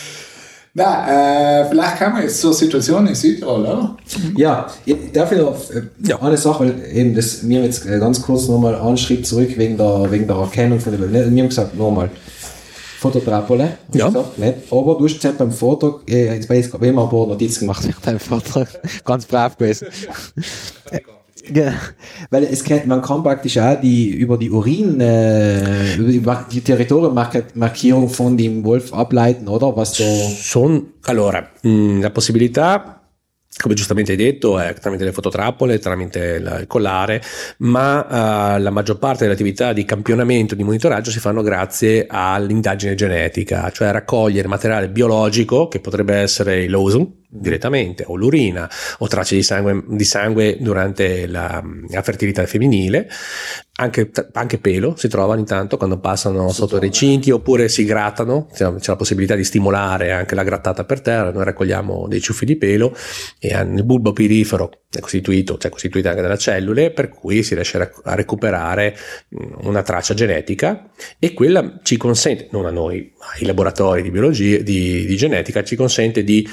Na, vielleicht kann man jetzt zur Situation in Südtirol, oder? Ja, darf ich noch eine Sache, weil eben das, wir haben jetzt ganz kurz nochmal einen Schritt zurück wegen der Erkennung von der Welt. Wir haben gesagt, nochmal, Fototrapole, gesagt, nicht? Aber du hast gesagt beim Vortrag, jetzt habe ich immer ein paar Notizen gemacht während deinem Vortrag, ganz brav gewesen. Ja, weil man kann praktisch auch über die die Territoriummarkierung von dem Wolf ableiten, oder? Allora, la possibilità, come giustamente hai detto, è tramite le fototrappole, tramite il collare, ma la maggior parte delle attività di campionamento, di monitoraggio si fanno grazie all'indagine genetica, cioè raccogliere materiale biologico, che potrebbe essere il Losum, direttamente, o l'urina, o tracce di sangue durante la fertilità femminile, anche pelo si trova ogni tanto quando passano sotto i recinti, oppure si grattano, c'è la possibilità di stimolare anche la grattata per terra. Noi raccogliamo dei ciuffi di pelo e il bulbo pirifero è costituito anche dalle cellule, per cui si riesce a recuperare una traccia genetica, e quella ci consente, non a noi, ai laboratori di biologia, di genetica, ci consente di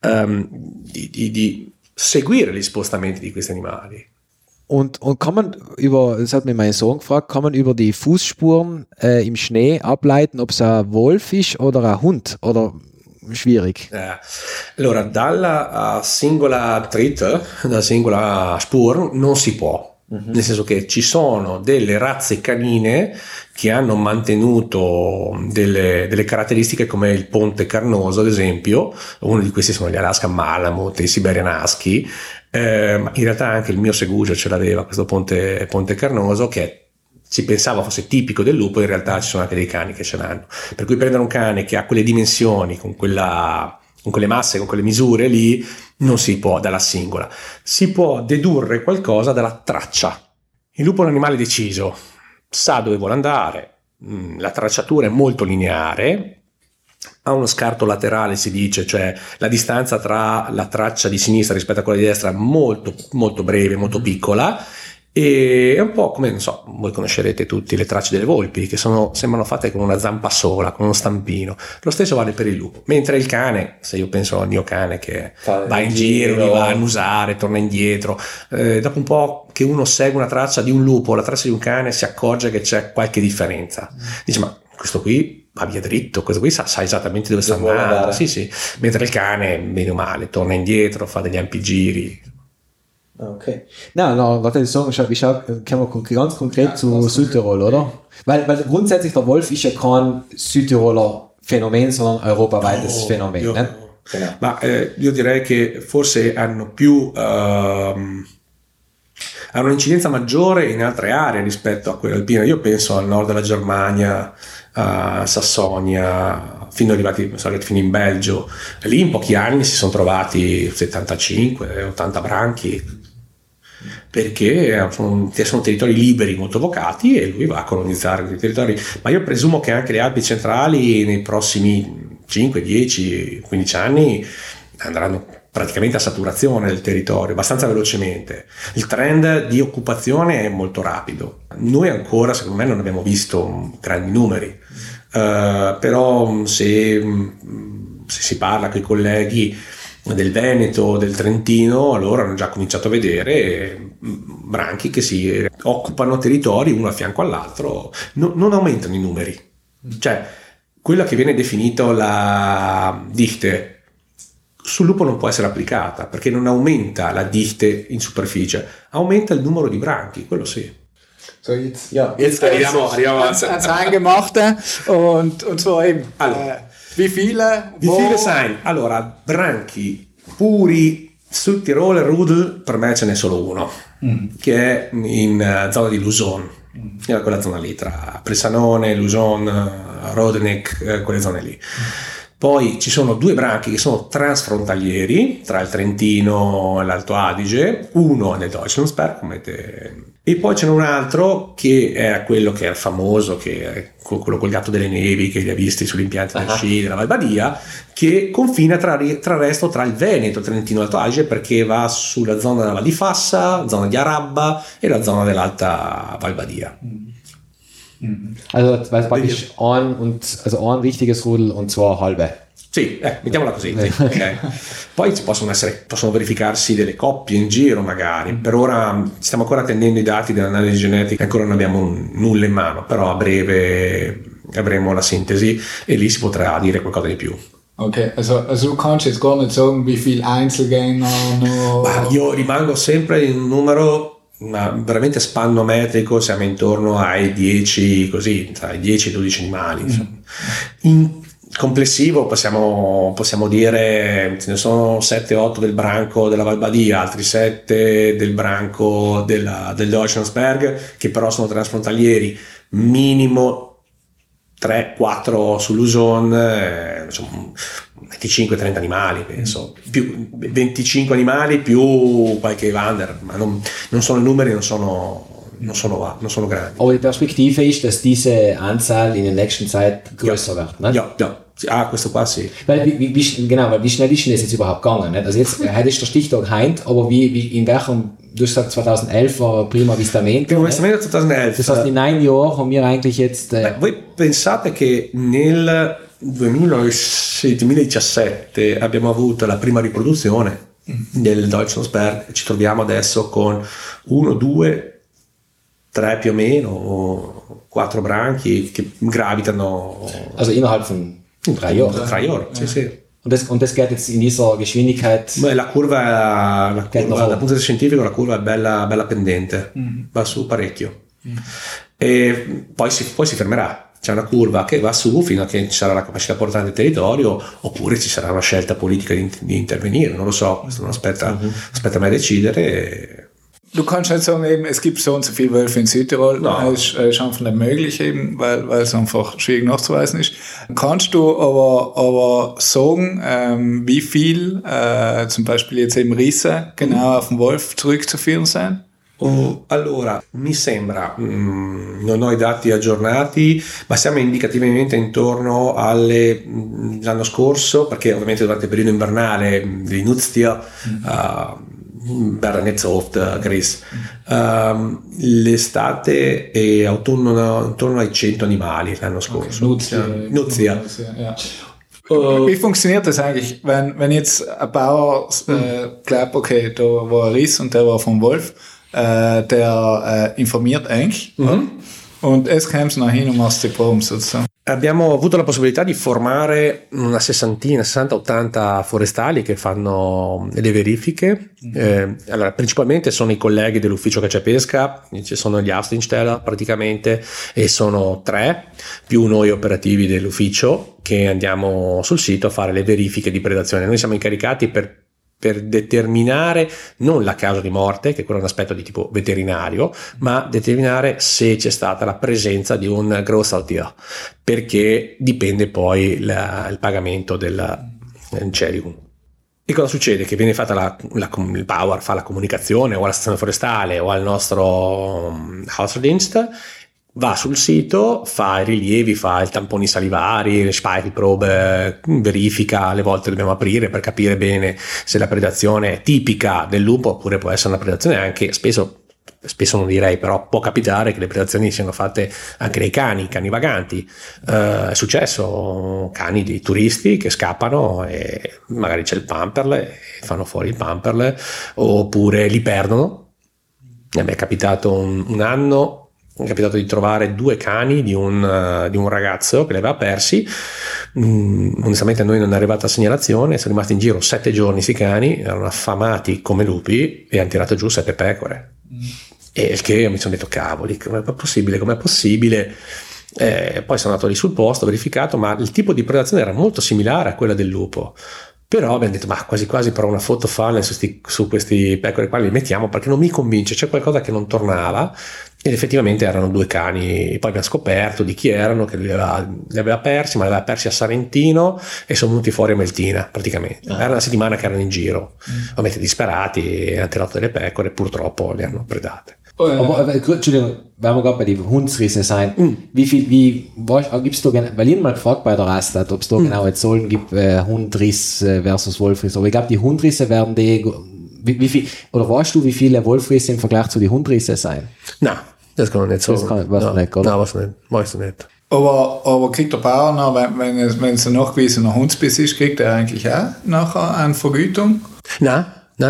seguire gli spostamenti di questi animali. Und kann man das hat mich mein Sohn gefragt, kann man über die Fußspuren im Schnee ableiten, ob es ein Wolf ist oder ein Hund, oder schwierig? Allora, dalla singola trait, dalla singola spur, non si può. Nel senso che ci sono delle razze canine che hanno mantenuto delle caratteristiche come il ponte carnoso, ad esempio. Uno di questi sono gli Alaska Malamute, i Siberian Husky, ma in realtà anche il mio Segugio ce l'aveva, questo ponte carnoso, che si pensava fosse tipico del lupo. In realtà ci sono anche dei cani che ce l'hanno, per cui prendere un cane che ha quelle dimensioni, con quelle masse, con quelle misure lì, non si può dalla singola. Si può dedurre qualcosa dalla traccia. Il lupo è un animale deciso, sa dove vuole andare, la tracciatura è molto lineare, ha uno scarto laterale, si dice, cioè la distanza tra la traccia di sinistra rispetto a quella di destra molto molto breve, molto piccola, e è un po' come, non so, voi conoscerete tutti le tracce delle volpi, che sembrano fatte con una zampa sola, con uno stampino. Lo stesso vale per il lupo. Mentre il cane, se io penso al mio cane che va in giro, mi va a annusare, torna indietro, dopo un po' che uno segue una traccia di un lupo, la traccia di un cane, si accorge che c'è qualche differenza. Dice, ma questo qui va via dritto, questo qui sa esattamente dove sta andando. Sì. Mentre il cane, bene o male, torna indietro, fa degli ampi giri. Okay. Warte, ich komme ganz konkret zu Südtirol, oder? Weil grundsätzlich der Wolf ist ja kein Südtiroler Phänomen, sondern europaweites Phänomen. Genau. Ma io direi che forse hanno un'incidenza maggiore in altre aree rispetto a quella alpina. Io penso al nord della Germania, a Sassonia, fino in Belgio. Lì in pochi anni si sono trovati 75-80 branchi, perché sono territori liberi, molto vocati, e lui va a colonizzare questi territori. Ma io presumo che anche le Alpi centrali nei prossimi 5, 10, 15 anni andranno praticamente a saturazione del territorio, abbastanza velocemente. Il trend di occupazione è molto rapido. Noi ancora, secondo me, non abbiamo visto grandi numeri, però se si parla con i colleghi del Veneto, del Trentino, allora hanno già cominciato a vedere branchi che si occupano territori uno a fianco all'altro. Non aumentano i numeri, cioè quella che viene definita la Dichte sul lupo non può essere applicata, perché non aumenta la Dichte in superficie, aumenta il numero di branchi, quello sì. So, jetzt arriviamo ans Eingemachte und zwar eben, wie viele sai? Allora, branchi puri sul Tirolo Rudel per me ce n'è solo uno, che è in zona di Luzon, quella zona lì tra Presanone, Luzon, Rodenek, quelle zone lì. Poi ci sono due branchi che sono transfrontalieri tra il Trentino e l'Alto Adige, uno nel Deutschlandsberg, e poi c'è un altro che è quello che è famoso, che è quello col gatto delle nevi che li ha visti sugli impianti del sci della Val Badia, che confina tra il resto tra il Veneto, il Trentino e l'Alto Adige, perché va sulla zona della Val di Fassa, zona di Arabba e la zona dell'Alta Val Badia. Also weil praktisch ein richtiges Rudel und zwei halbe. Sì, mettiamola così. Okay. Poi possono verificarsi delle coppie in giro magari. Per ora stiamo ancora attendendo i dati dell'analisi genetica, ancora non abbiamo nulla in mano, però a breve avremo la sintesi e lì si potrà dire qualcosa di più. Ok, also du kannst jetzt gar nicht sagen, wie viel Einzelgänger noch... Io rimango sempre in un numero veramente spannometrico, siamo intorno ai 10, così, tra i 10 e i 12 animali. In complessivo possiamo dire ce ne sono 7-8 del branco della Val Badia, altri 7 del branco del Deutschlandsberg, che però sono transfrontalieri, minimo 3-4 su Luzon, 25-30 animali, penso, più 25 animali più qualche Evander, ma non sono numeri, non sono grandi. Aber die Perspektive ist, dass diese Anzahl in der nächsten Zeit größer wird. Ne? Ja, questo qua sì. Weil wie schnell ist denn das jetzt überhaupt gegangen? Nicht? Also jetzt, heute ist der Stichtag heint, aber in welchem, du hast gesagt 2011 war Prima Avvistamento. Prima Avvistamento 2011. Das heißt, in 9 Jahren haben wir eigentlich jetzt... Voi pensate che nel 2017 abbiamo avuto la prima riproduzione del Deutschlandsberg, ci troviamo adesso con 1, 2, 3 più o meno, 4 branchi che gravitano. Also innerhalb von 3 Jahren. 3 Jahren, sì. Und das geht jetzt in dieser Geschwindigkeit. La curva dal punto di vista scientifico, la curva è bella pendente, va su parecchio. E poi si fermerà. C'è una curva che va su fino a che ci sarà la capacità portante del territorio, oppure ci sarà una scelta politica di intervenire, non lo so, questo non aspetta a me decidere. Du kannst nicht sagen, eben, es gibt so und so viele Wölfe in Südtirol. No. Das ist einfach nicht möglich, eben, weil es einfach schwierig nachzuweisen ist. Kannst du aber sagen, wie viel zum Beispiel jetzt eben Risse genau auf den Wolf zurückzuführen sind? Allora, mi sembra, non ho i dati aggiornati, ma siamo indicativamente intorno l'anno scorso, perché ovviamente durante il periodo invernale di Nutztier, verrà Netzoft, Gris, l'estate e autunno intorno ai 100 animali l'anno scorso. Nutztier. Ja. Wie funktioniert das eigentlich, wenn jetzt ein Bauer glaubt, okay, da war ein Riss und der war vom Wolf, der informiert eigentlich und es kommt nach hin und machst die Proben sozusagen. Abbiamo avuto la possibilità di formare una 60-80 forestali che fanno le verifiche. Allora, principalmente sono i colleghi dell'ufficio caccia e pesca, ci sono gli Austinsteller praticamente, e sono 3 più noi operativi dell'ufficio che andiamo sul sito a fare le verifiche di predazione. Noi siamo incaricati per determinare non la causa di morte, che quello è un aspetto di tipo veterinario, ma determinare se c'è stata la presenza di un Großhaltier, perché dipende poi il pagamento del Cerium. E cosa succede? Che viene fatta il Bauer fa la comunicazione o alla stazione forestale o al nostro Hausdienst, va sul sito, fa i rilievi, fa i tamponi salivari, le Speichelprobe, verifica, alle volte dobbiamo aprire per capire bene se la predazione è tipica del lupo oppure può essere una predazione anche, spesso non direi, però può capitare che le predazioni siano fatte anche dai cani vaganti. È successo cani di turisti che scappano e magari c'è il pamperle e fanno fuori il pamperle, oppure li perdono. Mi è capitato un anno, è capitato di trovare 2 cani di un ragazzo che li aveva persi. Onestamente a noi non è arrivata segnalazione, sono rimasti in giro 7 giorni questi cani, erano affamati come lupi e hanno tirato giù 7 pecore. E il che mi sono detto cavoli, com'è possibile? Poi sono andato lì sul posto, ho verificato, ma il tipo di predazione era molto similare a quella del lupo. Però abbiamo detto, ma quasi provo una foto funnel su questi pecore qua, li mettiamo, perché non mi convince, c'è qualcosa che non tornava. Ed effettivamente erano 2 cani, poi abbiamo scoperto di chi erano, che li aveva persi, ma li aveva persi a Sarentino e sono venuti fuori a Meltina praticamente. Era una settimana che erano in giro, ovviamente disperati, hanno tirato delle pecore e purtroppo le hanno predate. Aber, Entschuldigung, weil wir gerade bei den Hundsrisse sein, gibst du, weil ich mal gefragt bei der Rastat, ob es da genau jetzt Zahlen gibt, Hundriss versus Wolfriss, aber ich glaube, die Hundrisse werden wie viel, oder weißt du, wie viele Wolfrisse im Vergleich zu den Hundrisse sein? Nein, das kann man nicht sagen. Weißt du nicht. Aber kriegt der Bauer noch, wenn es ein nachgewiesener Hundsbiss ist, kriegt er eigentlich auch nachher eine Vergütung? Nein.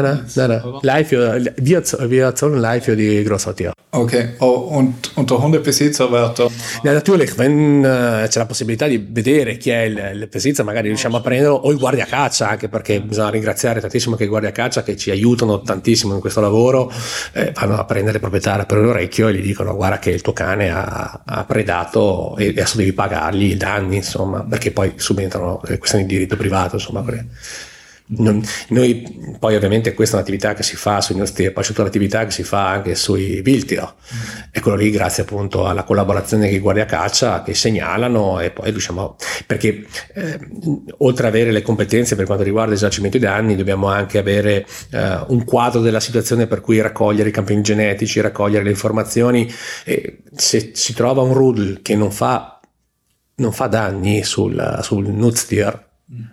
Wir zahlen live für die Großhaltier. Okay, und der Hundebesitzer wird dann... Ja, natürlich, wenn c'è la possibilità di vedere chi è il besitzer, magari riusciamo a prenderlo, o il guardiacaccia, anche perché bisogna ringraziare tantissimo che i guardiacaccia che ci aiutano tantissimo in questo lavoro, vanno a prendere il proprietario per l'orecchio e gli dicono guarda che il tuo cane ha predato e adesso devi pagargli i danni, insomma, perché poi subentrano le questioni di diritto privato, insomma. Noi poi ovviamente questa è un'attività che si fa sui nostri, poi c'è tutta l'attività che si fa anche sui Wildtier, e quello lì grazie appunto alla collaborazione che Guardia Caccia, che segnalano, e poi riusciamo, perché oltre ad avere le competenze per quanto riguarda il risarcimento dei danni, dobbiamo anche avere un quadro della situazione per cui raccogliere i campioni genetici, raccogliere le informazioni, e se si trova un rudel che non fa danni sul Nutztier,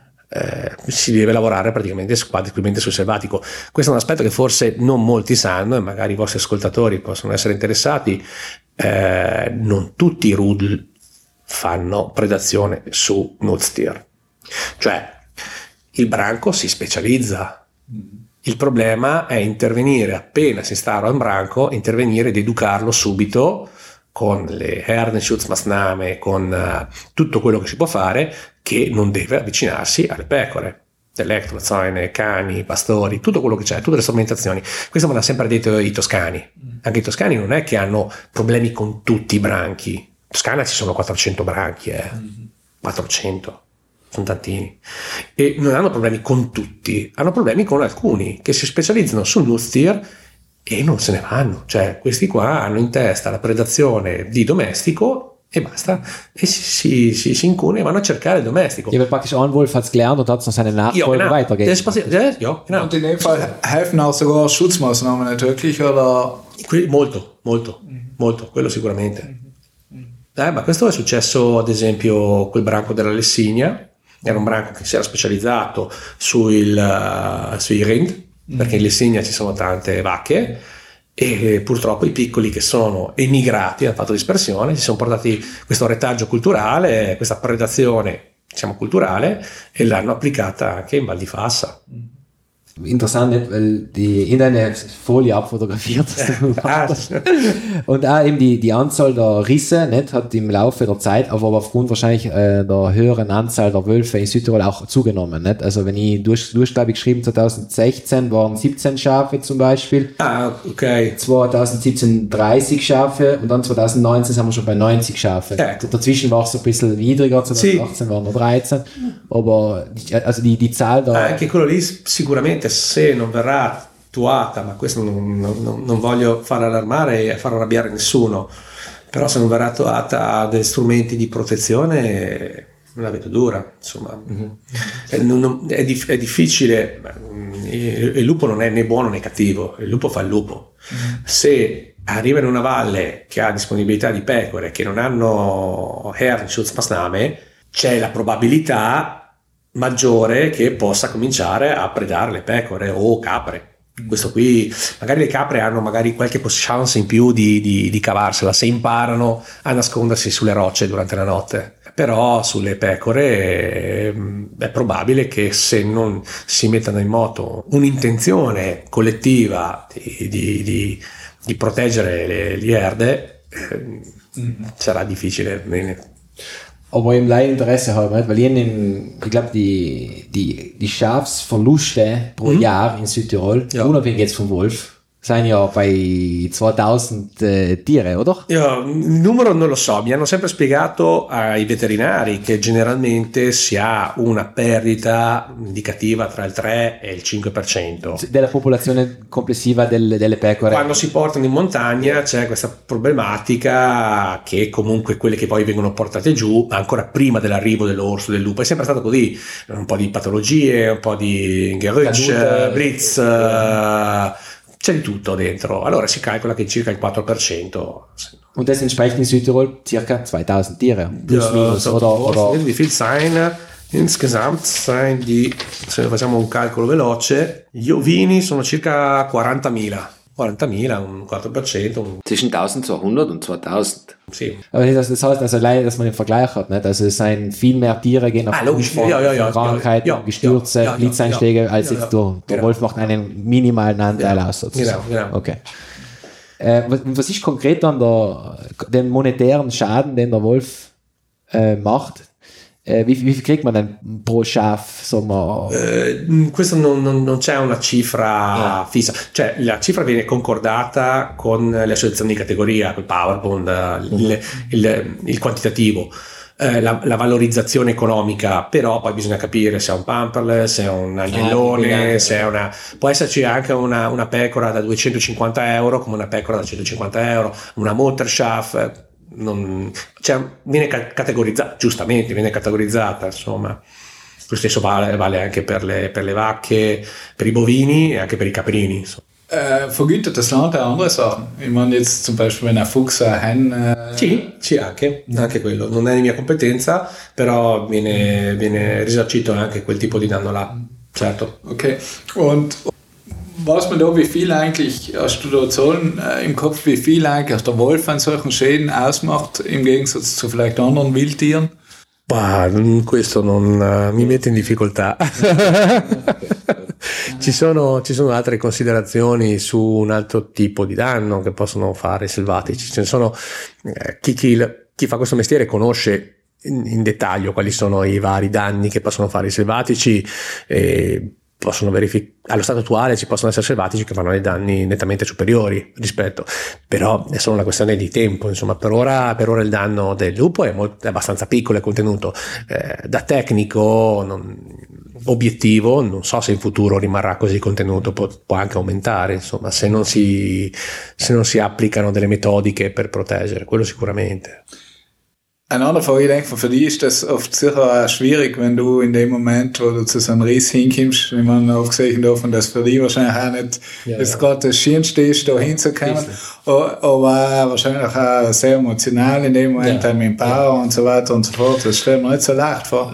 si deve lavorare praticamente esclusivamente sul selvatico. Questo è un aspetto che forse non molti sanno, e magari i vostri ascoltatori possono essere interessati. Non tutti i rudel fanno predazione su Nutztier, cioè il branco si specializza. Il problema è intervenire appena si instaura un branco, intervenire ed educarlo subito con le Herdenschutzmaßnahme, con tutto quello che si può fare, che non deve avvicinarsi alle pecore, elettrozone, cani, pastori, tutto quello che c'è, tutte le strumentazioni. Questo me l'ha sempre detto i toscani. Anche i toscani non è che hanno problemi con tutti i branchi. In Toscana ci sono 400 branchi, 400, sono tantini, e non hanno problemi con tutti, hanno problemi con alcuni che si specializzano sul Nutztier e non se ne vanno. Cioè questi qua hanno in testa la predazione di domestico e basta, e si incune e vanno a cercare il domestico. Ja, weil praktisch ein Wolf hat es gelernt und hat es an seine Nachfolger weitergegeben. Das passiert, ja, genau. Und in dem Fall helfen auch sogar Schutzmaßnahmen nicht wirklich, oder? Molto, quello sicuramente. Ma questo è successo ad esempio col branco della Lessigna. Era un branco che si era specializzato sui Rind, perché in Lessigna ci sono tante vacche, e purtroppo i piccoli che sono emigrati, hanno fatto dispersione, si sono portati questo retaggio culturale, questa predazione, diciamo, culturale, e l'hanno applicata anche in Val di Fassa. Interessant, nicht? Weil die in deine Folie abfotografiert hast. Und auch eben die Anzahl der Risse nicht, hat im Laufe der Zeit, aber aufgrund wahrscheinlich der höheren Anzahl der Wölfe in Südtirol auch zugenommen. Nicht? Also wenn ich habe geschrieben, 2016 waren 17 Schafe zum Beispiel. Okay. 2017 30 Schafe und dann 2019 sind wir schon bei 90 Schafe. Dazwischen war es ein bisschen niedriger, 2018 waren nur 13. Aber also die Zahl der... Anche quello lì sicuramente, se non verrà attuata, ma questo non voglio far allarmare e far arrabbiare nessuno, però se non verrà attuata dei strumenti di protezione, la vedo dura, insomma. È difficile. Il lupo non è né buono né cattivo, il lupo fa il lupo. Se arriva in una valle che ha disponibilità di pecore che non hanno Herdenschutzmaßnahme, c'è la probabilità maggiore che possa cominciare a predare le pecore o capre. Questo qui, magari le capre hanno magari qualche chance in più di cavarsela se imparano a nascondersi sulle rocce durante la notte, però sulle pecore è probabile che se non si mettano in moto un'intenzione collettiva di proteggere le erde, sarà difficile. Aber im Laieninteresse halber, weil ich glaube, die Schafsverluste pro Jahr in Südtirol, unabhängig jetzt vom Wolf, sind ja bei 2000 Tiere, oder? Io il numero non lo so, mi hanno sempre spiegato ai veterinari che generalmente si ha una perdita indicativa tra il 3 e il 5% della popolazione complessiva delle pecore. Quando si portano in montagna c'è questa problematica che comunque quelle che poi vengono portate giù ancora prima dell'arrivo dell'orso, del lupo, è sempre stato così, un po' di patologie, un po' di Gerücht, Blitz, c'è di tutto dentro. Allora si calcola che circa il 4%. Und das entspricht in Südtirol circa 2000 Tiere. Plus minus, oder? Wie viel sein? Insgesamt sein die, se facciamo un calcolo veloce, gli ovini sono circa 40.000. 40.000, un 4%. Zwischen 1200 und 2000. Sì. Aber das heißt, also allein, dass man den Vergleich hat, nicht? Also es sind viel mehr Tiere gehen aufgrund von Krankheiten, Gestürze, Blitzeinschläge, als jetzt der Wolf macht einen minimalen Anteil aus, sozusagen. Genau. Okay. Was ist konkret an den monetären Schaden, den der Wolf macht? Wie viel kriegt man denn pro Schaf? Questo non c'è una cifra fissa, cioè la cifra viene concordata con le associazioni di categoria, col PowerBond, il quantitativo. la valorizzazione economica, però poi bisogna capire se è un pamperless, se è un agnellone, se è può esserci anche una pecora da 250 euro come una pecora da 150 euro, una Mutterschaft, viene categorizzata, giustamente viene categorizzata, insomma. Lo stesso vale anche per le vacche, per i bovini e anche per i caprini, insomma. Vergütet das Land auch andere Sachen? Ich meine jetzt zum Beispiel, wenn ein Fuchs, ein Hen... Sì, anche quello. Non è di mia competenza, però viene risarcito anche quel tipo di danno là, certo. Okay, und weiß man da, wie viel eigentlich, hast du da Zahlen im Kopf, wie viel eigentlich der Wolf an solchen Schäden ausmacht, im Gegensatz zu vielleicht anderen Wildtieren? Questo non mi mette in difficoltà. Ci sono altre considerazioni su un altro tipo di danno che possono fare i selvatici. Ce ne sono chi fa questo mestiere conosce in dettaglio quali sono i vari danni che possono fare i selvatici. Possono allo stato attuale ci possono essere selvatici che fanno dei danni nettamente superiori rispetto, però è solo una questione di tempo, insomma. Per ora il danno del lupo è abbastanza piccolo e contenuto. Da tecnico obiettivo non so se in futuro rimarrà così contenuto, può anche aumentare, insomma, se non si applicano delle metodiche per proteggere, quello sicuramente. Eine andere Frage, ich denke, für dich ist das oft sicher auch schwierig, wenn du in dem Moment, wo du zu so einem Riss hinkommst, ich meine, abgesehen davon, dass für dich wahrscheinlich auch nicht gerade das Schönste ist, da hinzukommen, aber wahrscheinlich auch sehr emotional in dem Moment, mit dem Bauer und so weiter und so fort, das stelle ich mir nicht so leicht vor.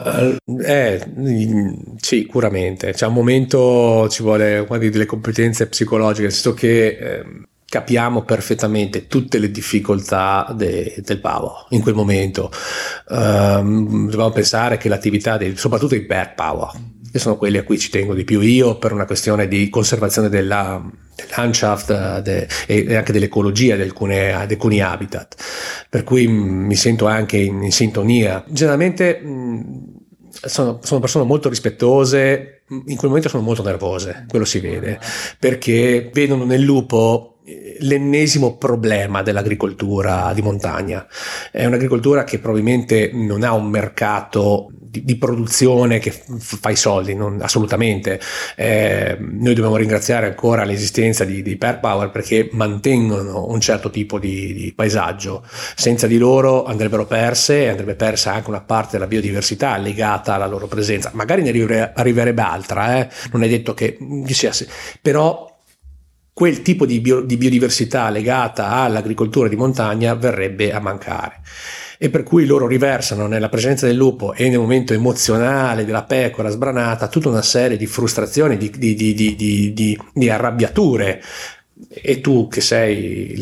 Sicuramente, c'è un momento, ci vuole delle competenze psicologiche, nel senso che capiamo perfettamente tutte le difficoltà del pavo in quel momento. Dobbiamo pensare che l'attività soprattutto i back power, che sono quelli a cui ci tengo di più io per una questione di conservazione della Landschaft e anche dell'ecologia di alcuni habitat, per cui mi sento anche in sintonia. Generalmente sono persone molto rispettose, in quel momento sono molto nervose, quello si vede, perché vedono nel lupo l'ennesimo problema dell'agricoltura di montagna. È un'agricoltura che probabilmente non ha un mercato di produzione che fa i soldi, assolutamente. Noi dobbiamo ringraziare ancora l'esistenza di Pair Power perché mantengono un certo tipo di paesaggio. Senza di loro andrebbe persa anche una parte della biodiversità legata alla loro presenza. Magari ne arriverebbe altra, non è detto che sia, però quel tipo di biodiversità legata all'agricoltura di montagna verrebbe a mancare, e per cui loro riversano nella presenza del lupo e nel momento emozionale della pecora sbranata tutta una serie di frustrazioni, di arrabbiature. E tu che sei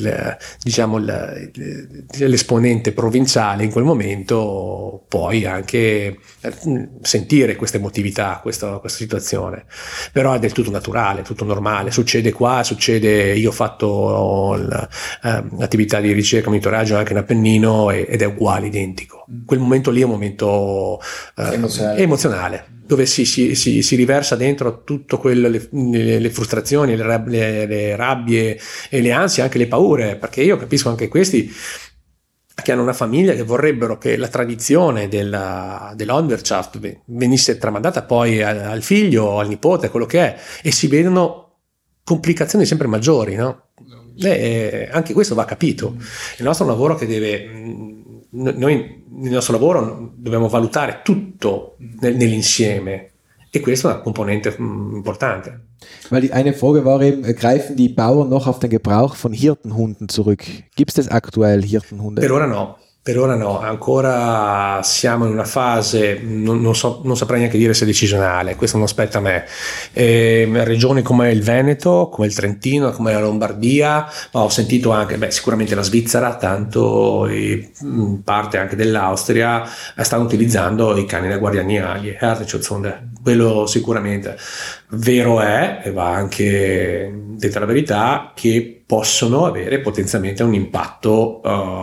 l'esponente provinciale in quel momento puoi anche sentire questa emotività, questa situazione, però è del tutto naturale, tutto normale, succede. Io ho fatto l'attività di ricerca e monitoraggio anche in Appennino ed è uguale, identico. Quel momento lì è un momento emozionale, dove si riversa dentro tutto le frustrazioni, le rabbie e le ansie, anche le paure, perché io capisco anche questi che hanno una famiglia che vorrebbero che la tradizione dell'Hundertschaft venisse tramandata poi al figlio, al nipote, quello che è, e si vedono complicazioni sempre maggiori, no? Anche questo va capito. Il nostro lavoro noi nel nostro lavoro dobbiamo valutare tutto nell'insieme, e questa è una componente importante. Weil eine Frage war eben, greifen die Bauern noch auf den Gebrauch von Hirtenhunden zurück? Gibt es aktuell Hirtenhunde? Per ora no, ancora siamo in una fase, non saprei neanche dire se decisionale, questo non spetta a me. Regioni come il Veneto, come il Trentino, come la Lombardia, ma ho sentito anche, sicuramente la Svizzera, tanto parte anche dell'Austria, stanno utilizzando i cani da guardiania, gli Herdenschutzhunde, quello sicuramente. Vero è, e va anche detta la verità, che possono avere potenzialmente un impatto.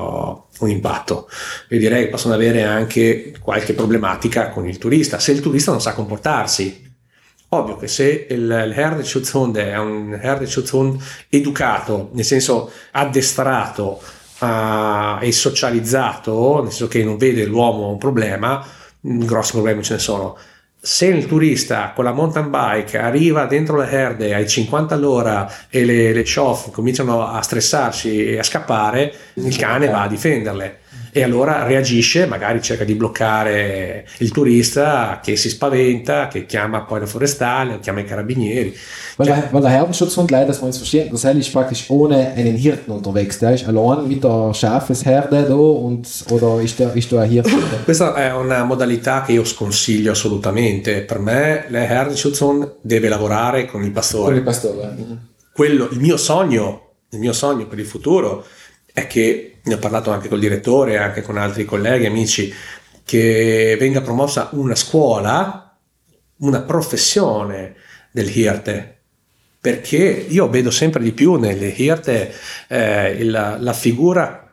Io direi che possono avere anche qualche problematica con il turista, se il turista non sa comportarsi. Ovvio che se il Herdenschutzhund è un Herdenschutzhund educato, nel senso addestrato è socializzato, nel senso che non vede l'uomo un problema, grossi problemi ce ne sono. Se il turista con la mountain bike arriva dentro le herde ai 50 all'ora e le chof cominciano a stressarsi e a scappare, il cane va a difenderle. E allora reagisce, magari cerca di bloccare il turista che si spaventa, che chiama poi la forestale o chiama i carabinieri. Weil der Herdenschutzhund, leider, dass wir uns verstehen, das heißt, ist praktisch ohne einen Hirten unterwegs. Der ist allein mit der Schafesherde da oder ist da ein Hirte? Questa è una modalità che io sconsiglio assolutamente. Per me il Herdenschutzhund deve lavorare con il pastore. Con il pastore. Il mio sogno per il futuro è che, ne ho parlato anche col direttore, anche con altri colleghi, amici, che venga promossa una scuola, una professione del Hirte, perché io vedo sempre di più nelle Hirte la figura,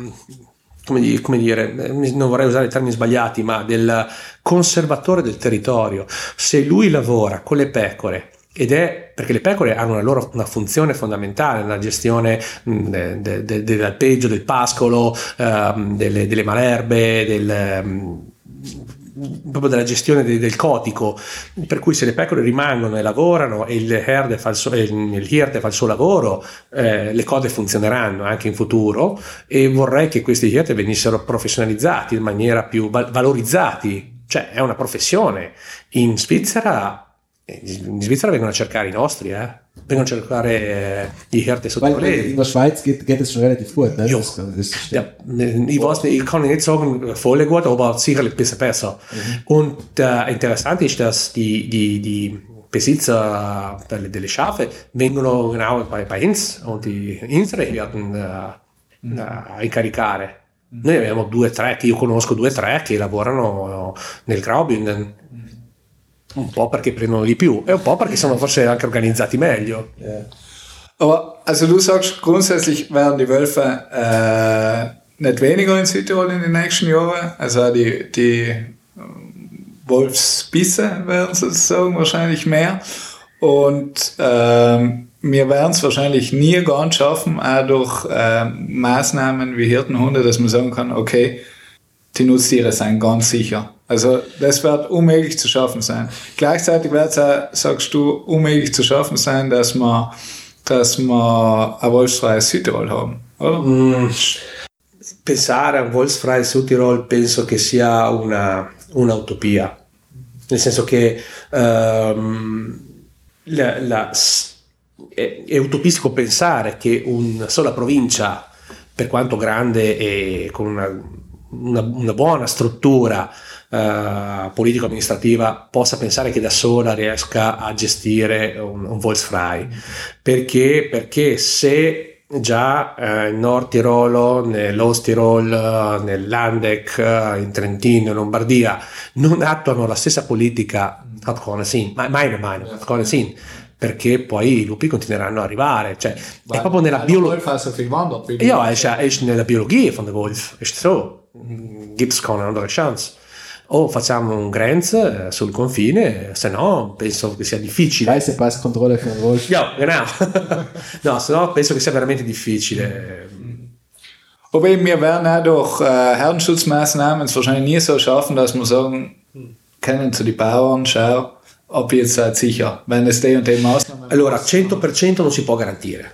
come dire, non vorrei usare i termini sbagliati, ma del conservatore del territorio. Se lui lavora con le pecore, ed è perché le pecore hanno una funzione fondamentale nella gestione dell'alpeggio, del pascolo, delle malerbe, proprio della gestione del cotico, per cui se le pecore rimangono e lavorano e il Hirte fa il suo lavoro, le cose funzioneranno anche in futuro, e vorrei che questi Hirte venissero professionalizzati in maniera più valorizzati, cioè è una professione. In Svizzera vengono a cercare i nostri, vengono a cercare i Hirte sottocolleghi. In der Schweiz geht es schon relativ gut. Ne? Ich weiß nicht, ich kann nicht sagen, voll gut, aber sicherlich ein bisschen besser. Und interessant ist, dass die Besitzer delle Schafe vengono genau bei uns und unsere Hirten a incaricare. Noi abbiamo 2 o 3, che io conosco 2 o 3 che lavorano nel Graubünden. Un po' perché prendono di più e un po' perché sono forse anche organizzati meglio. Aber also du sagst, grundsätzlich werden die Wölfe nicht weniger in Südtirol in den nächsten Jahren. Also die Wolfsbisse werden sozusagen wahrscheinlich mehr. Und wir werden es wahrscheinlich nie ganz schaffen, auch durch Maßnahmen wie Hirtenhunde, dass man sagen kann, okay, die Nutztiere sind ganz sicher. Also das wird unmöglich zu schaffen sein. Gleichzeitig wird es auch, sagst du, unmöglich zu schaffen sein, dass wir ein wolfsfreies Südtirol haben, oder? Pensare a un wolfsfreies Südtirol penso che sia un'utopia, nel senso che è utopistico pensare che una sola provincia, per quanto grande e con una buona struttura politico-amministrativa, possa pensare che da sola riesca a gestire un Wolfsfrei, perché se già in Nord Tirolo, nell'Ostirol, nel Landeck, in Trentino, in Lombardia non attuano la stessa politica, perché poi i lupi continueranno ad arrivare, cioè è proprio nella biologia. Ja, ist nella biologia von der Wolf, ist so, gibt's keine andere chance. O facciamo un Grenz sul confine, se no penso che sia difficile. Reisepasskontrolle für den Wolf. Ja, genau. No, se no penso che sia veramente difficile. Aber eben, wir werden auch durch Herdenschutzmaßnahmen es wahrscheinlich nie so schaffen, dass wir sagen können zu den Bauern, schau, ob ihr jetzt seid sicher, wenn es die und die Maßnahmen. Allora, 100% non si può garantire.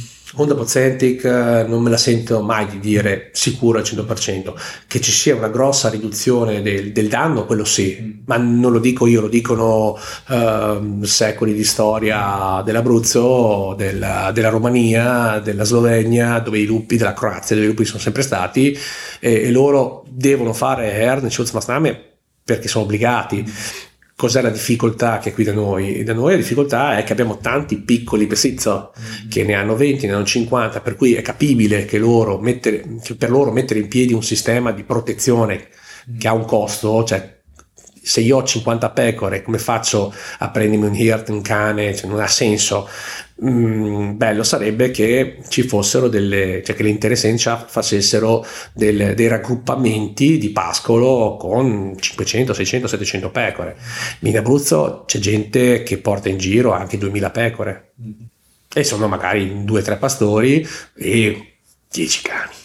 100% non me la sento mai di dire sicuro al 100%. Che ci sia una grossa riduzione del danno, quello sì, ma non lo dico io, lo dicono secoli di storia dell'Abruzzo, della Romania, della Slovenia, dove i lupi, della Croazia, dove i lupi sono sempre stati, e loro devono fare Herdenschutzmaßnahmen perché sono obbligati. Cos'è la difficoltà che è qui da noi? Da noi la difficoltà è che abbiamo tanti piccoli besitzer che ne hanno 20, ne hanno 50, per cui è capibile che per loro mettere in piedi un sistema di protezione che ha un costo, cioè se io ho 50 pecore, come faccio a prendermi un Hirt, un cane? Cioè, non ha senso. Bello sarebbe che ci fossero cioè che le interessenze facessero dei raggruppamenti di pascolo con 500, 600, 700 pecore. In Abruzzo c'è gente che porta in giro anche 2000 pecore e sono magari 2 o 3 pastori e 10 cani.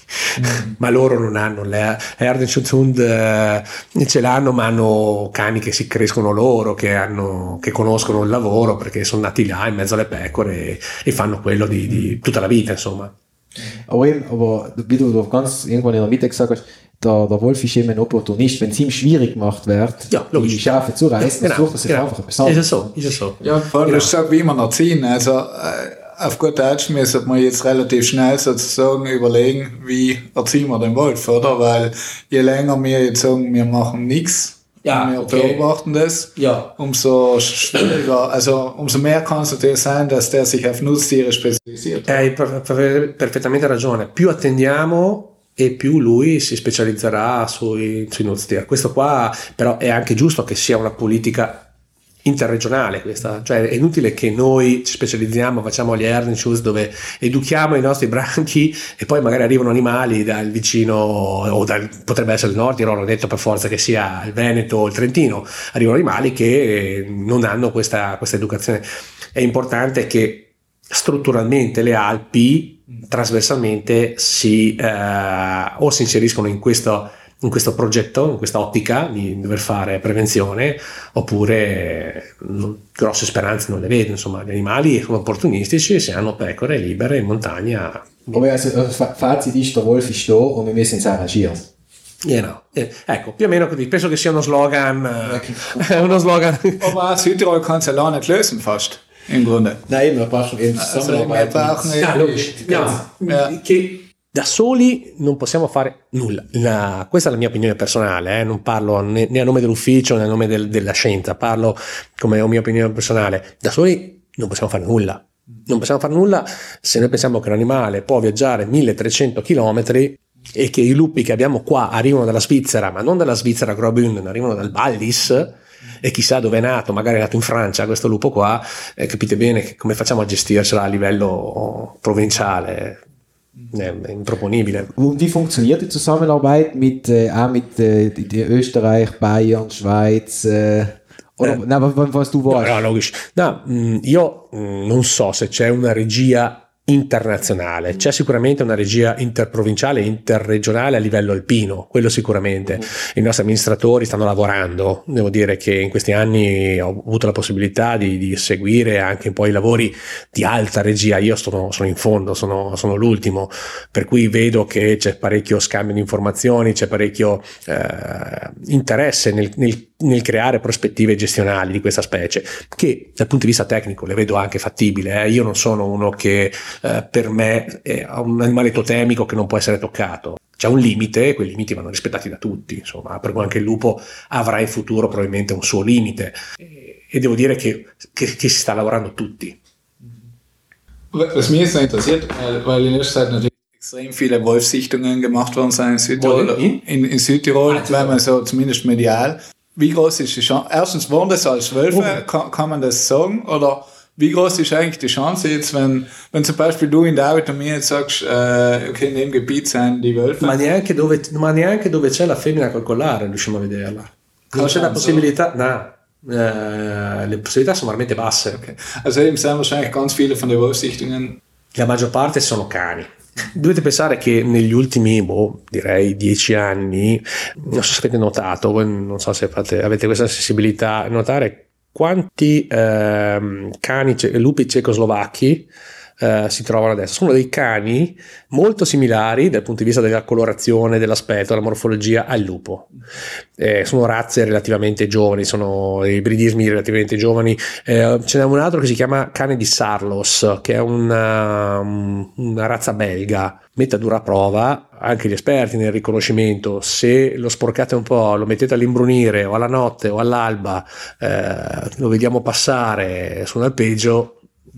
Ma loro non hanno le Herdenschutzhund, ce l'hanno, ma hanno cani che si crescono loro, che conoscono il lavoro perché sono nati là in mezzo alle pecore e fanno quello di tutta la vita, insomma. Aber wie du ganz irgendwann in der Mitte gesagt hast, der Wolf ist eben ein Opportunist. Wenn es ihm schwierig gemacht wird, die Schafe zu reißen, dann sucht er sich einfach etwas anderes. Ist es so. Ja, ich sage, wie man erziehen. Also auf gut Deutsch müssen wir jetzt relativ schnell sozusagen überlegen, wie erziehen wir den Wolf, oder? Weil je länger wir jetzt sagen, wir machen nichts, wir beobachten das, umso schwieriger, also umso mehr kann es natürlich sein, dass der sich auf Nutztiere spezialisiert. Hai perfettamente ragione. Più attendiamo e più lui si specializzerà sui nutztier. Questo qua però è anche giusto che sia una politica interregionale questa, cioè è inutile che noi ci specializziamo, facciamo gli Herdenschuss dove educhiamo i nostri branchi e poi magari arrivano animali dal vicino o potrebbe essere il Nord, non ho detto per forza che sia il Veneto o il Trentino, arrivano animali che non hanno questa educazione. È importante che strutturalmente le Alpi trasversalmente o si inseriscono in questo progetto, in questa ottica di dover fare prevenzione, oppure grosse speranze non le vedo. Insomma, gli animali sono opportunistici e se hanno pecore libere in montagna. Aber also, Fazit ist, der Wolf ist da und wir müssen uns arrangieren. Ecco, più o meno così. Penso che sia uno slogan. Uno slogan. Aber Südtirol kann es ja auch nicht lösen, fast. Im Grunde. Nein, wir brauchen eben Zusammenarbeit. Che da soli non possiamo fare nulla. Questa è la mia opinione personale, non parlo né a nome dell'ufficio né a nome della scienza, parlo come mia opinione personale. Da soli non possiamo fare nulla. Non possiamo fare nulla se noi pensiamo che un animale può viaggiare 1300 km e che i lupi che abbiamo qua arrivano dalla Svizzera, ma non dalla Svizzera Graubünden, arrivano dal Wallis, e chissà dove è nato, magari è nato in Francia questo lupo qua, capite bene come facciamo a gestirsela a livello provinciale. Improponibile. Und wie funktioniert die Zusammenarbeit mit Österreich, Bayern, Schweiz? Was du weißt? No, logisch. No, io non so se c'è una regia internazionale, c'è sicuramente una regia interprovinciale e interregionale a livello alpino, quello sicuramente. I nostri amministratori stanno lavorando, devo dire che in questi anni ho avuto la possibilità di seguire anche un po' i lavori di alta regia. Io sono in fondo, sono l'ultimo, per cui vedo che c'è parecchio scambio di informazioni, c'è parecchio interesse nel creare prospettive gestionali di questa specie, che dal punto di vista tecnico le vedo anche fattibili. Io non sono uno che per me è un animale totemico che non può essere toccato. C'è un limite e quei limiti vanno rispettati da tutti, insomma, per cui anche il lupo avrà in futuro probabilmente un suo limite e devo dire che si sta lavorando tutti. Was mich jetzt noch interessiert, weil in letzter Zeit natürlich extrem viele Wolfssichtungen gemacht worden sind in Südtirol, in Südtirol, weil man so zumindest medial. Wie groß ist die Chance? Erstens, waren das als Wölfe? Kann man das sagen? Oder wie groß ist eigentlich die Chance jetzt, wenn zum Beispiel du in David und mir jetzt sagst, okay, in dem Gebiet sind die Wölfe? Ma neanche dove c'è la femmina col collare riusciamo a vederla. Non c'è la possibilità, le possibilità sono veramente basse. Okay. Also eben sind wahrscheinlich ganz viele von den Wolfssichtungen. La maggior parte sono cani. Dovete pensare che negli ultimi, direi 10 anni, non so se avete notato, voi non so se avete questa sensibilità, notare quanti lupi cecoslovacchi si trovano adesso. Sono dei cani molto similari dal punto di vista della colorazione, dell'aspetto, della morfologia al lupo. Sono razze relativamente giovani, sono ibridismi relativamente giovani. Ce n'è un altro che si chiama cane di Sarlos, che è una razza belga, mette a dura prova anche gli esperti nel riconoscimento. Se lo sporcate un po', lo mettete all'imbrunire o alla notte o all'alba, lo vediamo passare su un alpeggio,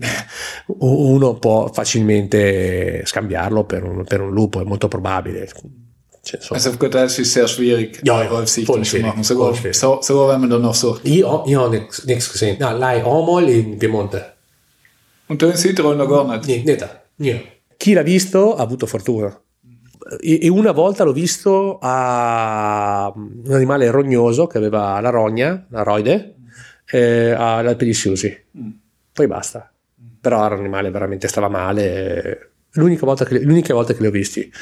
uno può facilmente scambiarlo per un lupo, è molto probabile. Also auf gut Deutsch ist es sehr schwierig, Wolfssichtung zu machen, sogar wenn man dann noch so. Io ho nichts gesehen. No, l'hai Omol in Piemonte. Und du in Südtirol noch gar nicht? Niente. Chi l'ha visto ha avuto fortuna. E una volta l'ho visto a un animale rognoso che aveva la rogna, la roide, all'Alpe di Siusi. Poi basta. Però era un animale veramente, stava male, l'unica volta che li ho visti.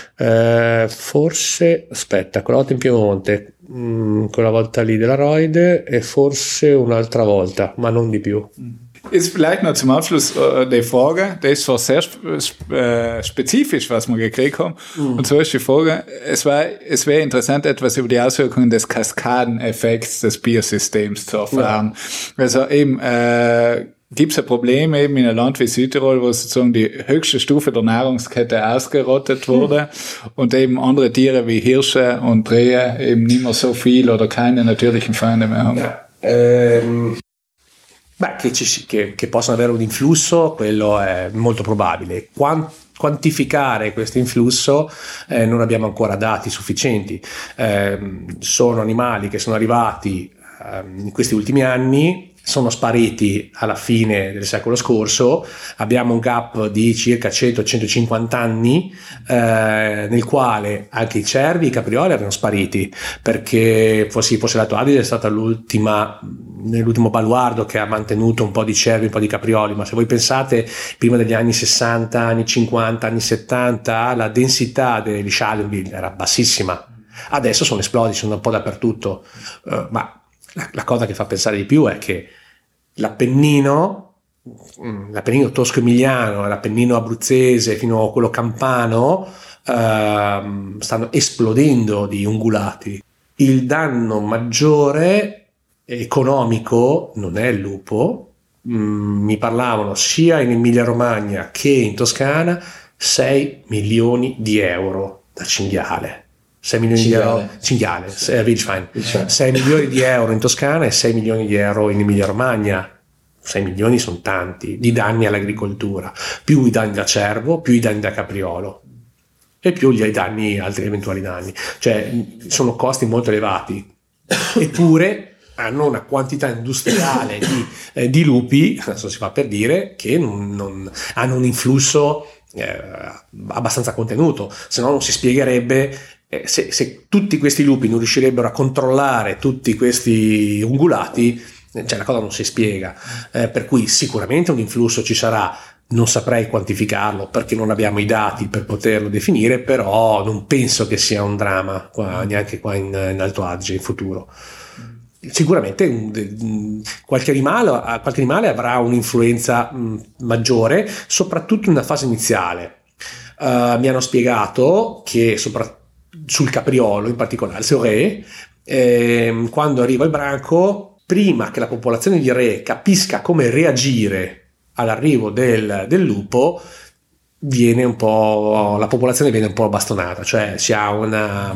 Forse, aspetta, quella volta in Piemonte, quella volta lì della Roide e forse un'altra volta, ma non di più. Ist vielleicht noch zum Abschluss die Frage, die ist zwar sehr spezifisch, was wir gekriegt haben. Und zwar ist die Frage, es wäre interessant, etwas über die Auswirkungen des Kaskadeneffekts des Biosystems zu erfahren. Ja. Also eben, gibt es ein Problem eben in einem Land wie Südtirol, wo sozusagen die höchste Stufe der Nahrungskette ausgerottet wurde und eben andere Tiere wie Hirsche und Rehe eben nicht mehr so viel oder keine natürlichen Feinde mehr haben. Ja. Che possano avere un influsso, quello è molto probabile. Quantificare questo influsso non abbiamo ancora dati sufficienti. Sono animali che sono arrivati in questi ultimi anni, sono spariti alla fine del secolo scorso, abbiamo un gap di circa 100-150 anni nel quale anche i cervi e i caprioli erano spariti, perché forse l'Alto Adige è stata nell'ultimo baluardo che ha mantenuto un po' di cervi, un po' di caprioli, ma se voi pensate prima degli anni 60, anni 50, anni 70, la densità degli Schalenwild era bassissima, adesso sono esplodi, sono un po' dappertutto, ma la cosa che fa pensare di più è che l'Appennino tosco-emiliano, l'Appennino abruzzese fino a quello campano stanno esplodendo di ungulati. Il danno maggiore economico non è il lupo, mi parlavano sia in Emilia Romagna che in Toscana 6 milioni di euro da cinghiale. 6 milioni di euro cinghiale, Wildschwein. 6 milioni di euro in Toscana e 6 milioni di euro in Emilia Romagna. 6 milioni sono tanti di danni all'agricoltura, più i danni da cervo, più i danni da capriolo e più gli altri eventuali danni, cioè sono costi molto elevati, eppure hanno una quantità industriale di lupi, adesso si fa per dire, che non hanno un influsso abbastanza contenuto, se no non si spiegherebbe. Se tutti questi lupi non riuscirebbero a controllare tutti questi ungulati, cioè la cosa non si spiega, per cui sicuramente un influsso ci sarà, non saprei quantificarlo perché non abbiamo i dati per poterlo definire, però non penso che sia un dramma neanche qua in Alto Adige in futuro. Sicuramente qualche animale avrà un'influenza maggiore, soprattutto nella fase iniziale. Mi hanno spiegato che sul capriolo in particolare, sul re, quando arriva il branco, prima che la popolazione di re capisca come reagire all'arrivo del lupo, la popolazione viene un po' bastonata, cioè si ha una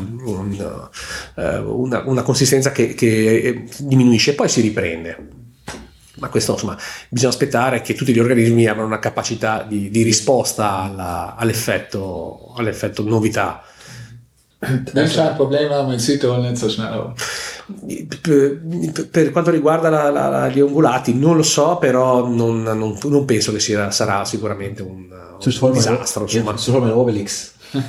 consistenza che diminuisce e poi si riprende. Ma questo, insomma, bisogna aspettare che tutti gli organismi abbiano una capacità di risposta all'effetto novità. Non c'è il problema, ma in Südtirol non so schnell. Per quanto riguarda gli ungulati, non lo so, però non penso che sarà sicuramente un disastro. Insomma. Obelix.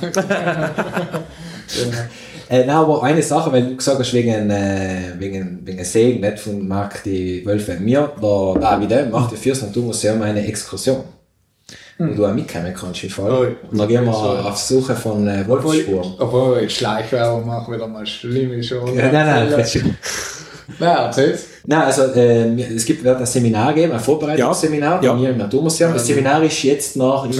Aber eine Sache, weil du gesagt hast, wegen Segen, nicht von Marc die Wölfe. Der Davide macht ja fürs Naturmuseum eine Exkursion. Wo du auch mitkommen kannst im Fall. Und dann gehen wir auf Suche von Wolfsspuren. Obwohl ich Schleichwerbung mache, wieder mal schlimm schon. Nein. Na, erzähl's. Nein, also wird ein Seminar geben, ein Vorbereitungsseminar bei mir im Naturmuseum. Das Seminar ist jetzt noch am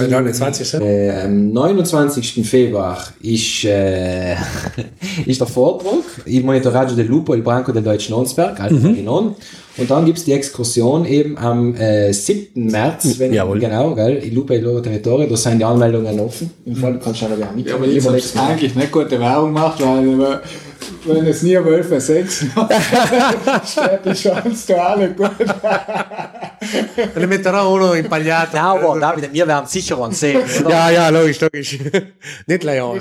29. Februar ist der Vortrag Il monitoraggio del lupo e il branco del Deutschen Onsberg, Alpha-Ginon. Und dann gibt es die Exkursion eben am 7. März, genau, gell, Il Lupo e il loro territorio, da sind die Anmeldungen offen. Im Fall kannst du auch noch mit. Ja, aber jetzt habe ich eigentlich nicht gute Werbung gemacht, weil wenn es nie Wölfe 6 steht die Chance da alle gut. Ne metterò uno impagliato. No, aber David, wir werden sicher einen sehen. Ja, logisch. Nicht Leon.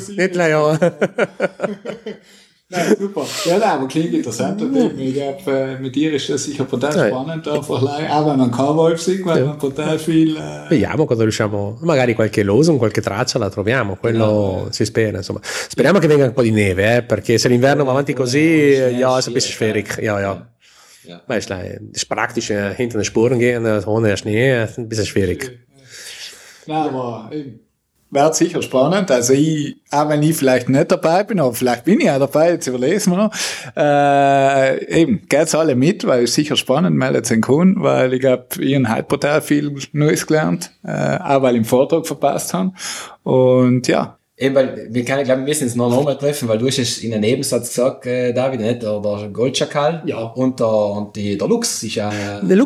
Nein, super. Ja, aber klingt interessant. Und ich glaube, mit dir ist das sicher total spannend. Auch wenn man kein Wolf sieht, weil man total viel. Vediamo quando riusciamo, magari qualche losung, qualche traccia la troviamo, quello si spera, insomma. Speriamo che venga un po' di neve, perché se l'inverno va avanti così, ja, ist ein bisschen schwierig. Ja. Weil es praktisch hinter den Spuren gehen, ohne Schnee, ist ein bisschen schwierig. Nein, aber wird sicher spannend. Also auch wenn ich vielleicht nicht dabei bin, aber vielleicht bin ich auch dabei, jetzt überlesen wir noch. Eben, geht's alle mit, weil es sicher spannend, meldet sich Kunden, weil ich glaube, ich habe heute brutal viel Neues gelernt, auch weil ich den Vortrag verpasst habe. Und ja. Eben, weil wir müssen uns noch mal treffen, weil du hast es in einem Nebensatz gesagt, David, nicht? Der Goldschakal. Ja. Und der Lux ist ja... Nel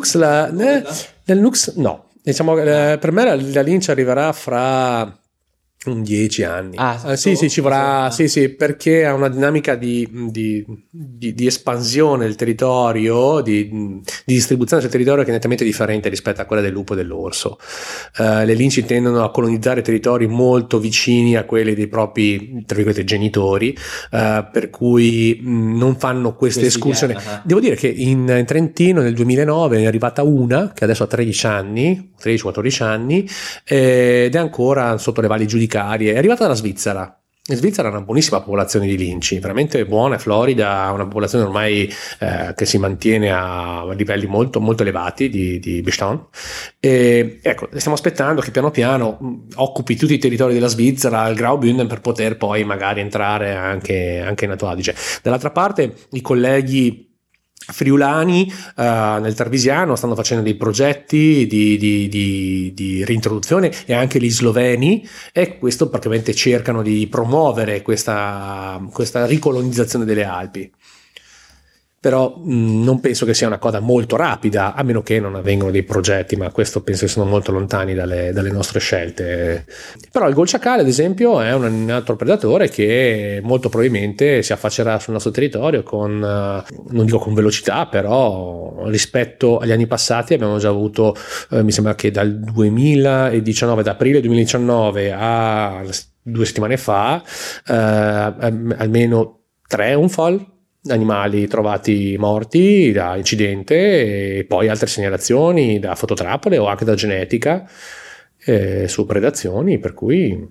Lux, no. Diciamo, per me la Lynch arriverà fra 10 anni. Sì, ci vorrà, sì, perché ha una dinamica di espansione del territorio, di distribuzione del territorio che è nettamente differente rispetto a quella del lupo e dell'orso. Le linci tendono a colonizzare territori molto vicini a quelli dei propri, tra virgolette, genitori, per cui non fanno queste escursioni. Devo dire che in Trentino nel 2009 è arrivata una, che adesso ha 13-14 anni, ed è ancora sotto le valli giudicarie. È arrivata dalla Svizzera. In Svizzera ha una buonissima popolazione di linci, veramente buona. Florida ha una popolazione ormai che si mantiene a livelli molto molto elevati di Bestand. E ecco, stiamo aspettando che piano piano occupi tutti i territori della Svizzera, il Graubünden, per poter poi magari entrare anche in Alto Adige. Dall'altra parte i colleghi friulani nel Tarvisiano stanno facendo dei progetti di reintroduzione, e anche gli sloveni, e questo praticamente cercano di promuovere questa ricolonizzazione delle Alpi. Però non penso che sia una cosa molto rapida, a meno che non avvengano dei progetti, ma questo penso che sono molto lontani dalle nostre scelte. Però il golciacale, ad esempio, è un altro predatore che molto probabilmente si affaccerà sul nostro territorio con, non dico con velocità, però rispetto agli anni passati abbiamo già avuto, mi sembra che dal 2019, da aprile 2019 a 2 settimane fa, almeno 3 unfall, animali trovati morti da incidente, e poi altre segnalazioni da fototrappole o anche da genetica su predazioni, per cui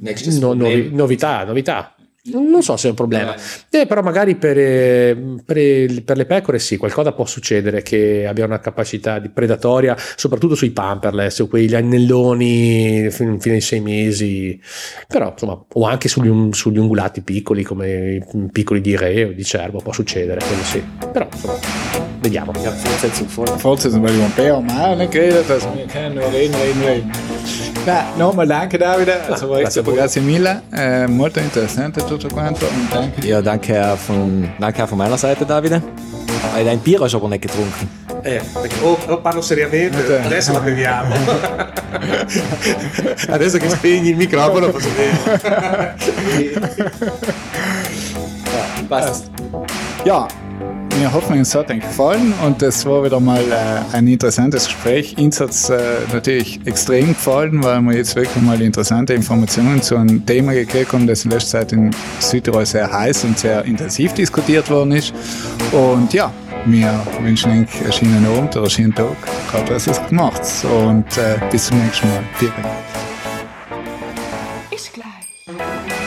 novità. Non so se è un problema, però magari per le pecore sì, qualcosa può succedere, che abbia una capacità di predatoria, soprattutto sui pamperless o quegli annelloni fino ai 6 mesi, però insomma, o anche sugli ungulati piccoli, come i piccoli di re o di cervo, può succedere, quello sì, però insomma, vediamo. Forse sono un po', ma non credo, dass wir können nur reden. Nochmal danke, Davide, grazie mille, molto interessante tutto quanto, und danke. Ja, danke auch von meiner Seite, Davide. Dein Bier hast du aber nicht getrunken. Perché o parlo seriamente, adesso la beviamo. Adesso che spegni il microfono posso bere. Passt. Ja, wir hoffen, es hat euch gefallen, und das war wieder mal ein interessantes Gespräch. Uns hat es natürlich extrem gefallen, weil wir jetzt wirklich mal interessante Informationen zu einem Thema gekriegt haben, das in letzter Zeit in Südtirol sehr heiß und sehr intensiv diskutiert worden ist. Und ja, wir wünschen euch einen schönen Abend oder einen schönen Tag, gerade was ihr gemacht. Und bis zum nächsten Mal. Vielen Dank. Ist gleich.